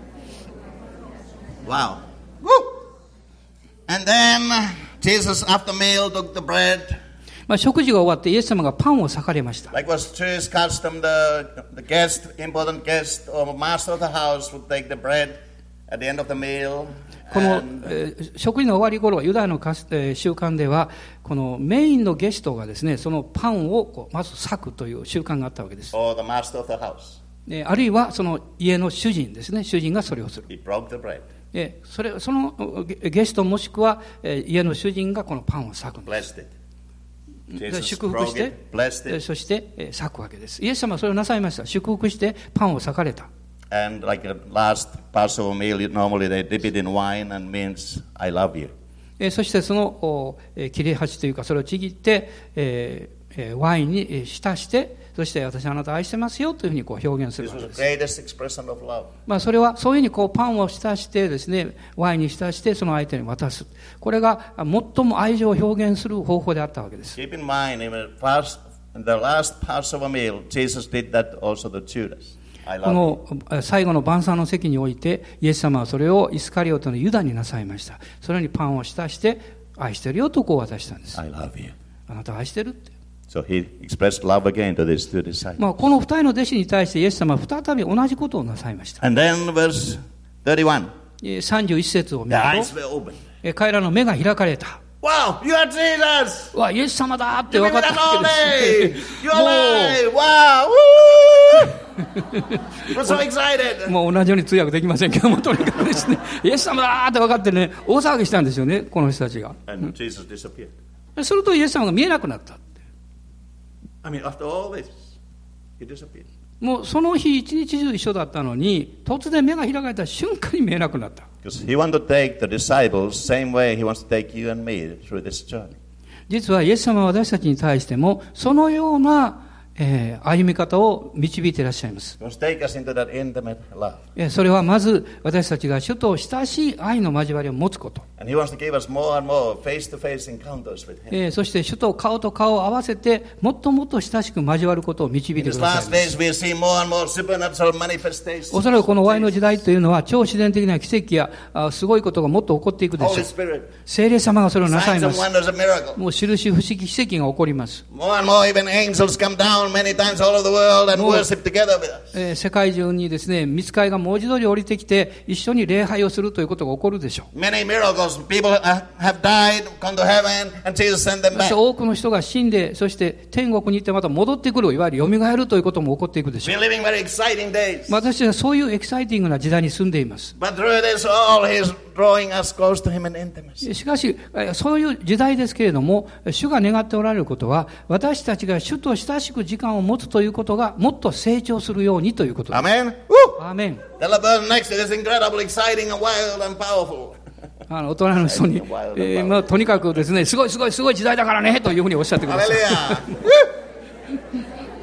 Wow. Woo! And then Jesus, after meal, took the bread. まあ、食事が終わってイエス様がパンを裂かれました。 Like was to his custom, the, the guest, important guest, or master of the house would take the bread at the end of the meal. この、 And, えー食事の終わり頃、ユダヤのかす、えー習慣では、このメインのゲストがですね、そのパンをこうまず裂くという習慣があったわけです。 or the master of the house. えーあるいはその家の主人ですね、主人がそれをする。 He broke the bread, えーそれそのゲゲストもしくは、えー家の主人がこのパンを裂くんです。 blessed it. で Jesus 祝福し broke て it, blessed えー it. そして、えー裂くわけです。イエス様はそれをなさいました。祝福してパンを裂かれた。 And like a last Passover meal, you- normally they dip it in wine and means, I love you. えーそしてそのおえー切れ端というかそれをちぎって、えーえーワインにえー浸して、そして私はあなたを愛してますよというふうにこう表現する This わ was け the です。 greatest expression of love. まあ、それはそういうふうにこうパンを浸してですね、ワインに浸してその相手に渡す。これが最も愛情を表現する方法であったわけです。 Keep in mind, in the, first, in the last Passover meal, Jesus did that also to Judas. I こ love you. のえー最後の晩餐の席において、イエス様はそれをイスカリオテのユダになさいました。それにパンを浸して愛してるよとこう渡したんです。 I love you. あなたを愛してるって。 So he expressed love again to these two disciples. まあ、この二人の弟子に対してイエス様は再び同じことをなさいました。 And then verse thirty-one. えーさんじゅういち節を見 The る eyes と、 were opened. えー彼らの目が開かれた。 Wow, you are Jesus! うわ、イエス様だって You 分 give か me った that わ all けで day! す。 You're alive! Wow! Woo! We're so excited! もう同じように通訳できませんけども、とにかくですね、イエス様だって分かってね、大騒ぎしたんですよね、この人たちが。 And Jesus disappeared. するとイエス様が見えなくなった。 I mean, after all this, he disappeared. もうその日一日中一緒だったのに、突然目が開かれた瞬間に見えなくなった。 Because he wants to take the disciples same way he wants to take you and me through this journey. 実はイエス様は私たちに対しても、そのような、えー歩み方を導いていらっしゃいます。 He wants to take us into that intimate love. えーそれはまず私たちが主と親しい愛の交わりを持つこと。 And he wants to give us more and more face-to-face encounters with him. えーそして主と顔と顔を合わせてもっともっと親しく交わることを導い In て these くださ last います days, we see more and more supernatural manifestations. おそらくこの終わりの時代というのは超自然的な奇跡やあすごいことがもっと起こっていくでしょ Holy う。 Spirit, 聖霊様がそれをなさい signs ま and す。 wonders and miracles. もう印不思議奇跡が起こります。 More and more, even angels come down many times all over the world and More- worship together with us. えー世界中にですね、御使いが文字通り降りてきて一緒に礼拝をするということが起こるでしょう。 Many miracles. People uh, have died, gone to heaven, and Jesus sent them そして back. 多くの人が死んで、そして天国に行ってまた戻ってくる、いわゆる蘇るということも起こっていくでしょ We're う。 living very exciting days. 私たちはそういうエキサイティングな時代に住んでいます。 But through this all, He's drawing us close to Him in intimacy. しかし、えーそういう時代ですけれども、主が願っておられることは、私たちが主と親しく時間を持つということがもっと成長するようにということです。 Amen? Woo! アーメン。 Tell the person next to you, it's incredible, exciting, and wild, and powerful. あの大人の人に、えーまあ、とにかくですね、すごいすごいすごい時代だからねというふうにおっしゃってください。 Hallelujah. Woo!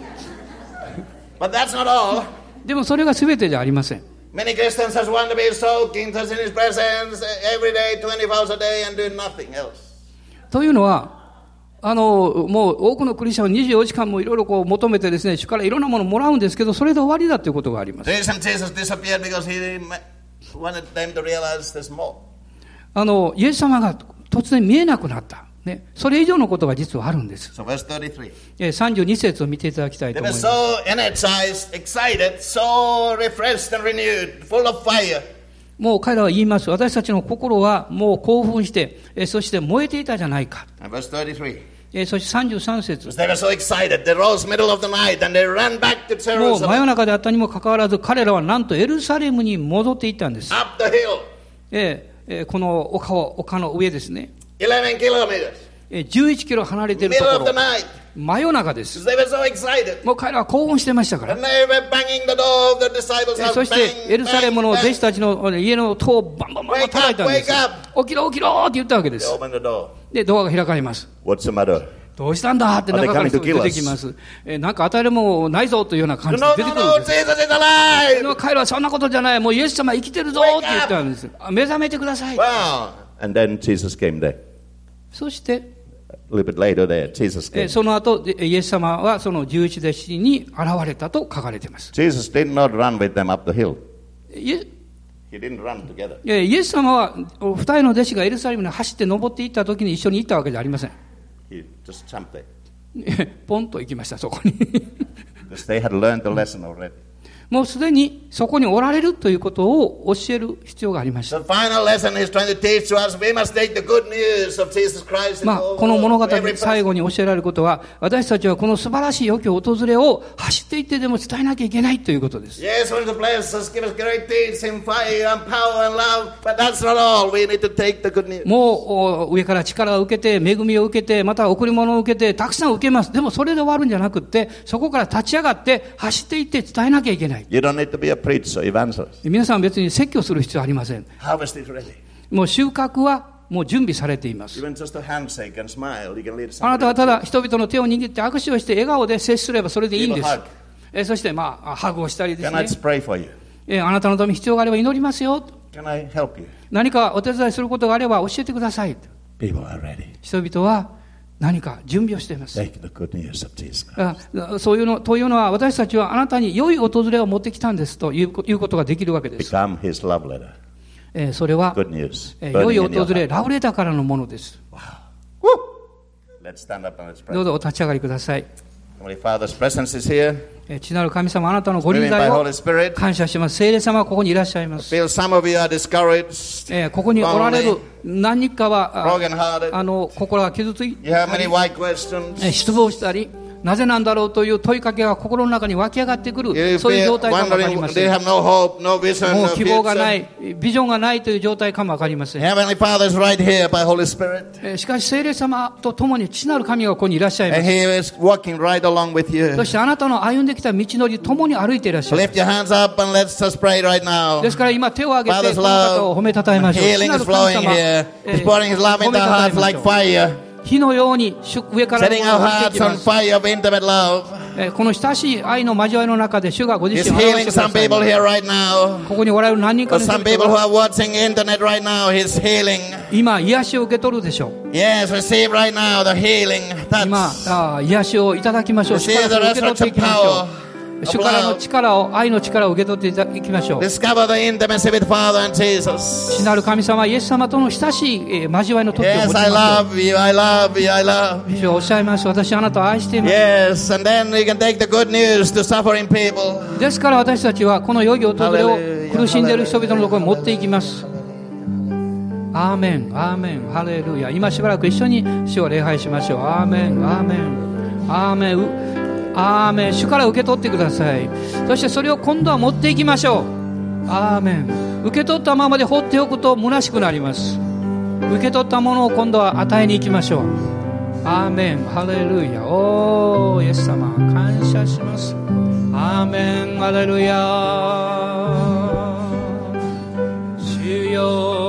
But that's not all. でもそれが全てじゃありません。 Many Christians just want to be soaking just in His presence every day, twenty-four hours a day, and do nothing else. というのは、あの、もう多くのクリスチャンはにじゅうよじかんもいろいろこう求めてですね、主からいろんなものをもらうんですけど、それで終わりだということがあります。 The reason Jesus disappeared because He wanted them to realize there's more. あの、イエス様が突然見えなくなった。ね。それ以上のことが実はあるんです。 So verse thirty-three. えーさんじゅうに節を見ていただきたいと They 思 were います。 so energized, excited, so refreshed and renewed, full of fire. もう彼らは言います。私たちの心はもう興奮して、えーそして燃えていたじゃないか。 And verse thirty-three. えーそしてさんじゅうさん節。 Because they were so excited, they rose middle of the night and they ran back to もう真夜 Jerusalem, 中であったにもかかわらず、彼らはなんとエルサレムに戻っていったんです。 up the hill, えーえーこの丘を、丘の上ですね。 eleven kilometers. じゅういちキロ離れていると Middle こ of the ろ、 night. 真夜中です。 They were so excited. もう彼らは興奮してましたから。 And they were banging the door of the disciples' え house. そしてエルサレムの弟子 Bang, たちの家の戸をバンバンバンバン叩いたんです。 Wake up, 起きろ起きろって言ったわけで They す。 opened the door. で、ドアが開かれます。 What's the matter? どうしたんだって中から人が出てきます。えなんか与えるもないぞというような感じで No, 出て no, くるん no, です。 Jesus is alive. でも彼らはそんなことじゃない。もうイエス様生きてるぞって言ったんです。あ目覚めてください。 Wow. And then Jesus came there. そして、 A little bit later there, Jesus え came. その後、でイエス様はそのじゅういち弟子に現れたと書かれています。 Jesus did not run with them up the hill. イエ He didn't run together. いやイエス様は二人の弟子がエルサレムに走って登っていった時に一緒に行ったわけじゃありません。 He just jumped there. ポンと行きました、そこに。 Because they had learned the lesson already. もうすでにそこにおられるということを教える必要がありました。 The final lesson he's trying to teach to us, we must take the good news of Jesus Christ. まあ、この物語で最後に教えられることは、私たちはこの素晴らしい良き訪れを走っていってでも伝えなきゃいけないということです。 Yes, want to bless us, give us great deeds in fire and power and love, but that's not all. We need to take the good news. もう上から力を受けて、恵みを受けて、また贈り物を受けて、たくさん受けます。でもそれで終わるんじゃなくって、そこから立ち上がって走っていって伝えなきゃいけない。 You don't need to be a preacher, evangelist. 皆さん別に説教する必要はありません。 Harvest is ready. もう収穫はもう準備されています。 Even just a handshake and smile, you can lead あな somebody. たはただ人々の手を握って握手をして笑顔で接すればそれでいいんです Give a hug.。 えそしてまあハグをしたりです Can I ね。 just pray for you? えあなたのために必要があれば祈りますよ。 Can I help you? 何かお手伝いすることがあれば教えてください。 People are ready. 人々は何か準備をしています。 Take the good news of Jesus. あそういうのというのは私たちはあなたに良い訪れを持ってきたんですといういうことができるわけです。 Become his love letter. えーそれは、 Good news. えー良い Burning in your 訪れ heart. ラブレターからのものです。 Woo! Let's stand up and let's どう pray. ぞお立ち上がりください。 Heavenly Father's presence is here. えー父なる神様、あなたのご臨 Moving 在 by を Holy Spirit. 感謝します。聖霊様はここにいらっしゃいます。 Feel some of you are discouraged, えーここにおられる何人かはあ broken-hearted. あの心が傷つい You have many why questions. えー失望したり、なぜなんだろうという問いかけが心の中に湧き上がってく You る、そういう feel 状態かもわかり wondering, ま they せん。 have no hope, no vision, もう no 希望がな future. い、ビジョンがないという状態かもわかりません。 Heavenly Father is right here by Holy Spirit. えーしかし聖霊様と共に父なる神がここにいらっしゃいま And す。 He is walking right along with you. そしてあなたの歩んできた道のり共に歩いていらっしゃいま Lift your hands up and let's just pray right now. す。ですから今手を挙げて Father's この方を褒めたたえましょう。 Healing 父な is る神 flowing 様、 here. え He's ー pouring His love 褒 into め our たたえ hearts ま like しょう。 fire. 火のように上から Setting our 降り hearts てき on ます。 fire of intimate love. えーこの親しい愛の交わりの中で主がご自 He's 身を表 healing してくだ some さい people ます。 here right now. ここにおられる何人か For の人 some people 々 who は are watching internet right now, He's healing. 今癒しを受け取るでしょう。 Yes, receive right now the healing 今 touch. あ癒しをいただきましょう。主 Receive から the それを受け取ってい resurrection きましょ power う。主からの力を、愛の力を受け取っていただきましょう。 Discover the intimacy with Father and Jesus. 父なる神様、イエス様との親しい、えー交わりの時を持 Yes, ち I ましょう。 love you, I love you, I love you. 主はおっしゃいます。私はあなたを愛しています。 Yes, and then we can take the good news to suffering people. ですから私たちはこの良い訪れを Hallelujah. 苦しんでいる人々のところに持っていきます。アーメン、アーメン、ハレルヤ。今しばらく一緒に主を礼拝しましょう。アーメン、アーメン、アーメン。アーメン。主から受け取ってください。そしてそれを今度は持っていきましょう。アーメン。受け取ったままで放っておくと虚しくなります。受け取ったものを今度は与えに行きましょう。アーメン。ハレルヤ。おーイエス様感謝します。アーメン。ハレルヤ。主よ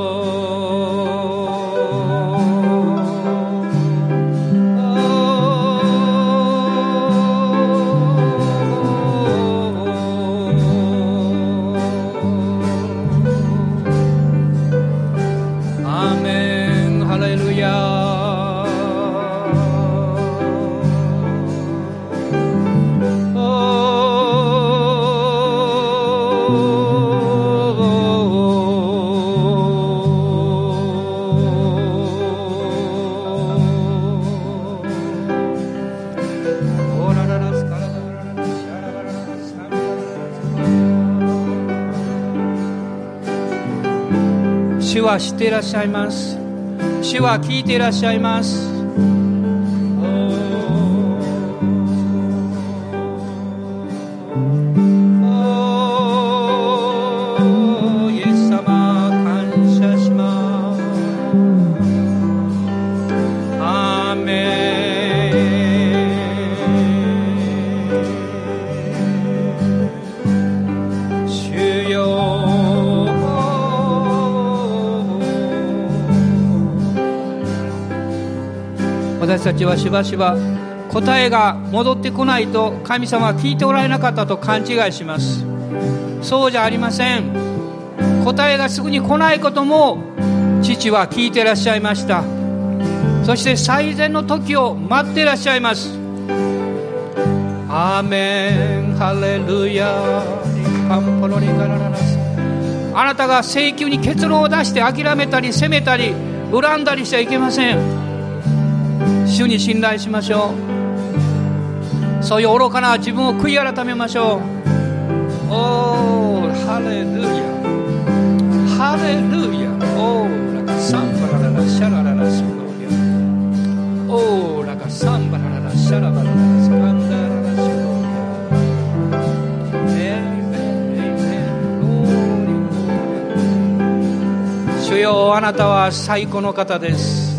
主は知っていらっしゃいます。主は聞いていらっしゃいます。おーイエス様感謝します。アーメ私たちはしばしば答えが戻ってこないと神様は聞いておられなかったと勘違いします。そうじゃありません。答えがすぐに来ないことも父は聞いていらっしゃいました。そして最善の時を待っていらっしゃいます。アーメンハレルヤ。あなたが請求に結論を出して諦めたり責めたり恨んだりしちゃいけません。主に信頼しましょう。そういう愚かな自分を悔い改めましょう。おーハレルヤハレルヤ。おーラカサンバラララシャラララスノリア。おーラカサンバラララシャラバララスカンダララシノリア。エイメンエイメン。主よ、あなたは最高の方です。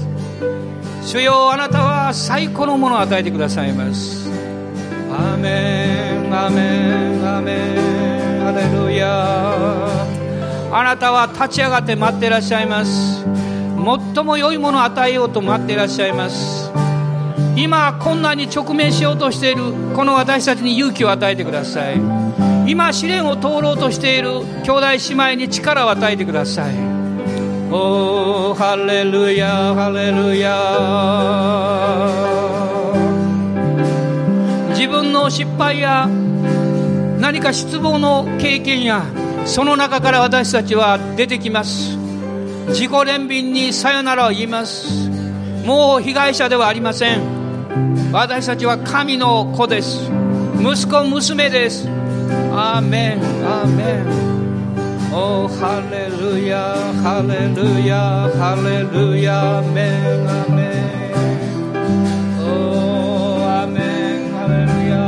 主よ、あなたは最高のものを与えてくださいます。アーメンアーメンアーメンハレルヤ。あなたは立ち上がって待っていらっしゃいます。最も良いものを与えようと待っていらっしゃいます。今困難に直面しようとしているこの私たちに勇気を与えてください。今試練を通ろうとしている兄弟姉妹に力を与えてください。おーハレルヤハレルヤ。自分の失敗や何か失望の経験やその中から私たちは出てきます。自己憐憫にさよならを言います。もう被害者ではありません。私たちは神の子です。息子娘です。アーメンアーメン。おーハレルヤハレルヤハレルヤアーメンアーメン。おーアーメンハレルヤ。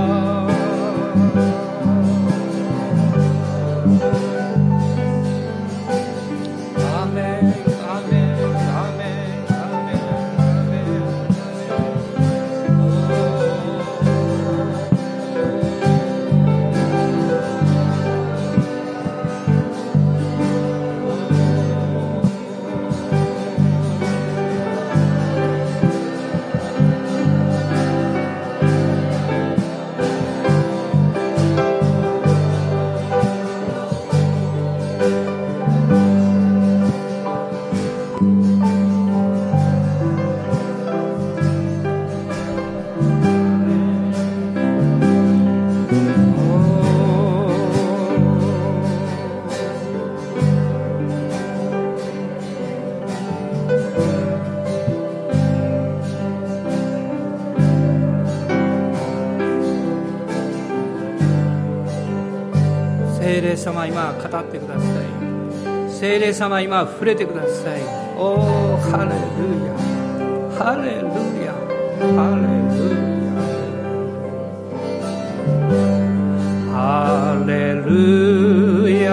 聖霊様、今語ってください。聖霊様、今触れてください。おーハレルヤハレルヤハレルヤ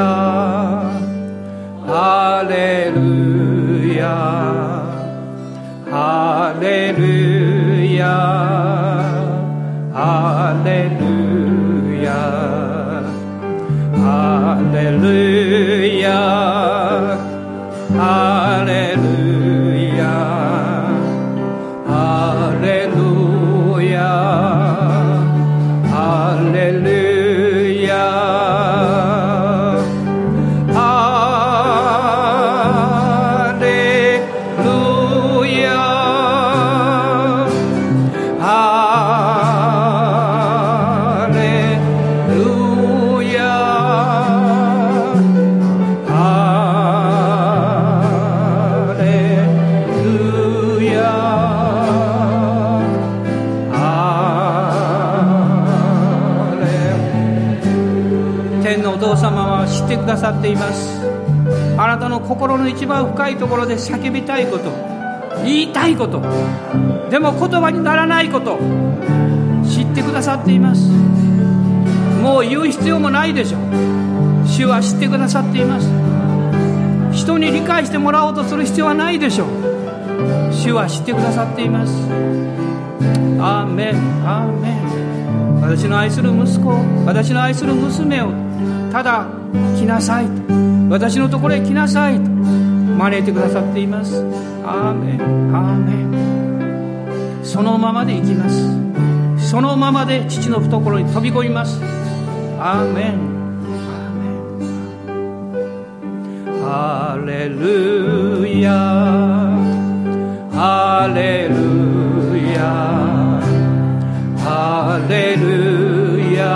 ハレルヤハレルヤハレルヤハレルヤハレルヤハレルヤハレルヤハレルヤハレルヤ知ってくださっています。あなたの心の一番深いところで叫びたいこと、言いたいこと、でも言葉にならないこと、知ってくださっています。もう言う必要もないでしょう。主は知ってくださっています。人に理解してもらおうとする必要はないでしょう。主は知ってくださっています。アーメンアーメン。私の愛する息子、私の愛する娘をただ来なさいと、私のところへ来なさいと招いてくださっています。アーメンアーメン。 そのままで生きます。そのままで父の懐に飛び込みます。アーメン。ハレルヤハレルヤハレルヤ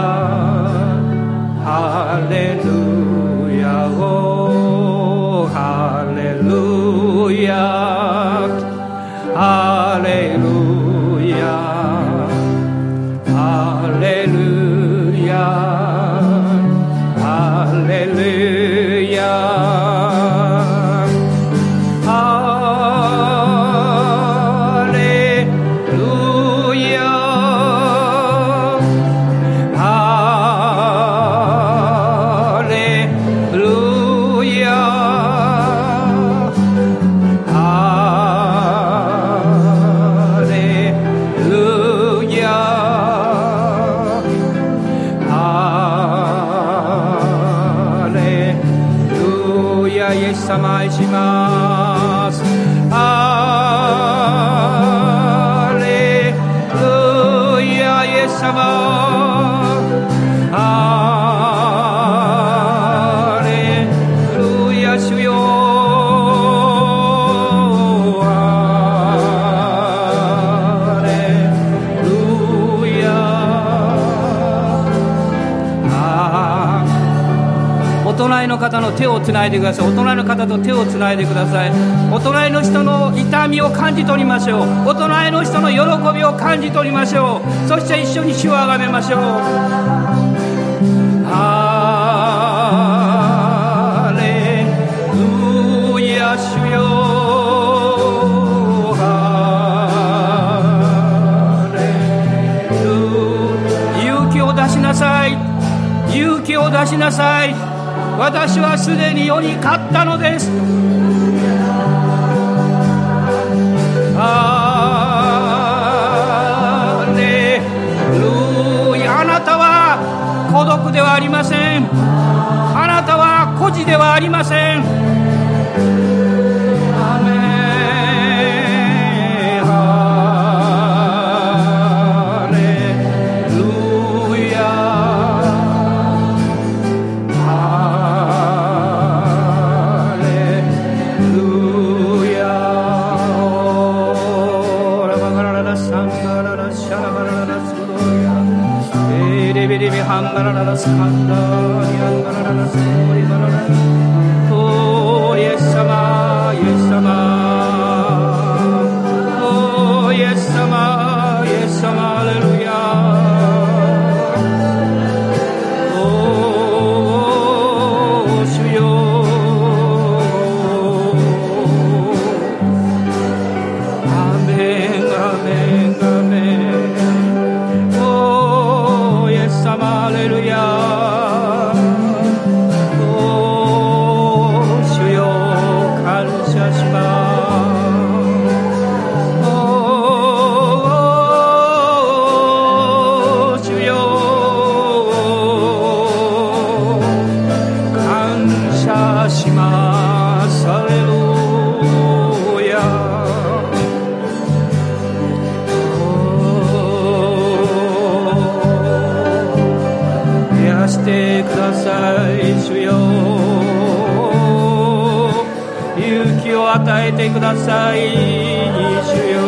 ハレルヤおハレルヤハレルヤハレルヤハレルヤ方の手をつないでください。お隣の方と手をつないでください。お隣の人の痛みを感じ取りましょう。お隣の人の喜びを感じ取りましょう。そして一緒に主をあがめましょう。ハレルヤ主よハレルヤ勇気を出しなさい。勇気を出しなさい。私はすでに世に勝ったのです。ハレルヤ。あなたは孤独ではありません。あなたは孤児ではありません。アメン。ハレルヤハンガラララスカンダニアンガラララスコリバララおーイエス様イエス様おーイエス様イエス様ハレルヤおー主よアメンアメンアメンハレルヤお主よ感謝しますお主よ感謝しますハレルヤしてください主よ勇気を与えてください主よ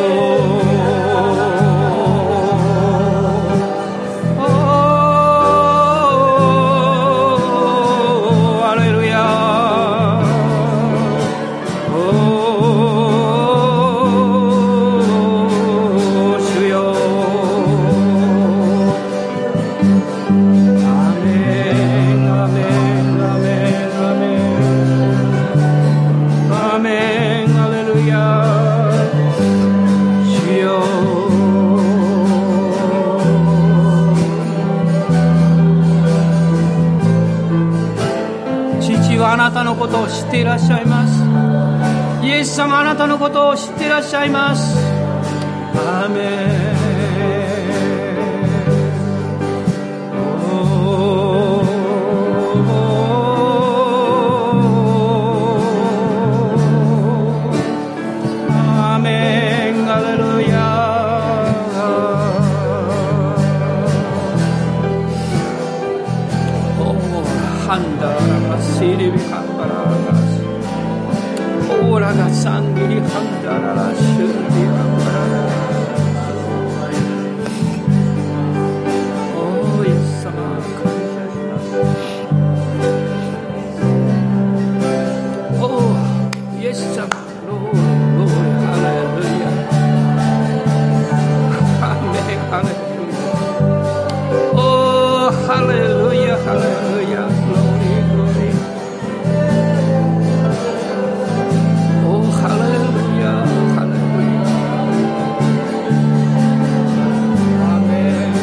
ハレルヤ主よあなたのことを知っていらっしゃいます。イエス様あなたのことを知っていらっしゃいます。アーメンアーメンハレルヤパララオーラがサンギリハンダララシュリアパララおーイエス様感謝しますおーイエス様ローローハレルヤアメンハレルヤおーハレルヤハレルヤグローリーグローリーおーハレルヤハレルヤアメン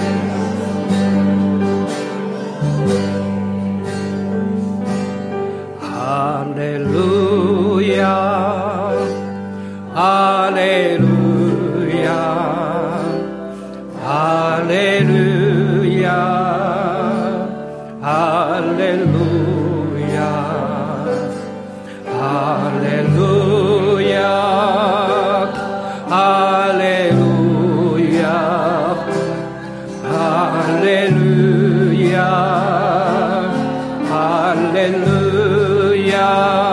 ハレルヤハレルヤハレルヤハレルヤハレルヤハレルヤハレルヤハレルヤ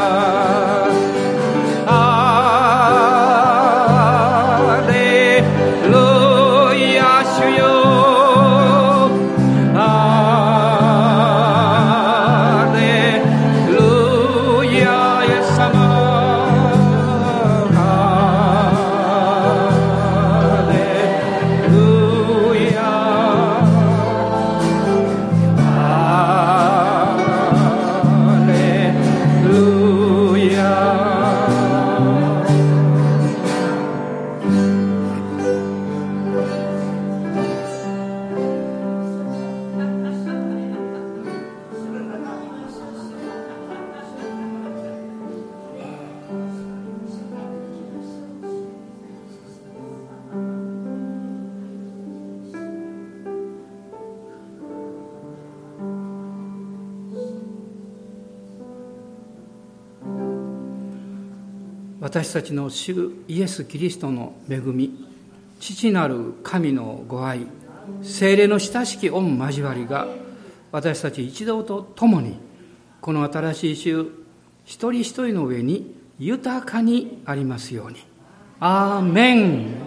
私たちの主イエス・キリストの恵み、父なる神のご愛、聖霊の親しき御交わりが私たち一同と共にこの新しい週一人一人の上に豊かにありますように。アーメン。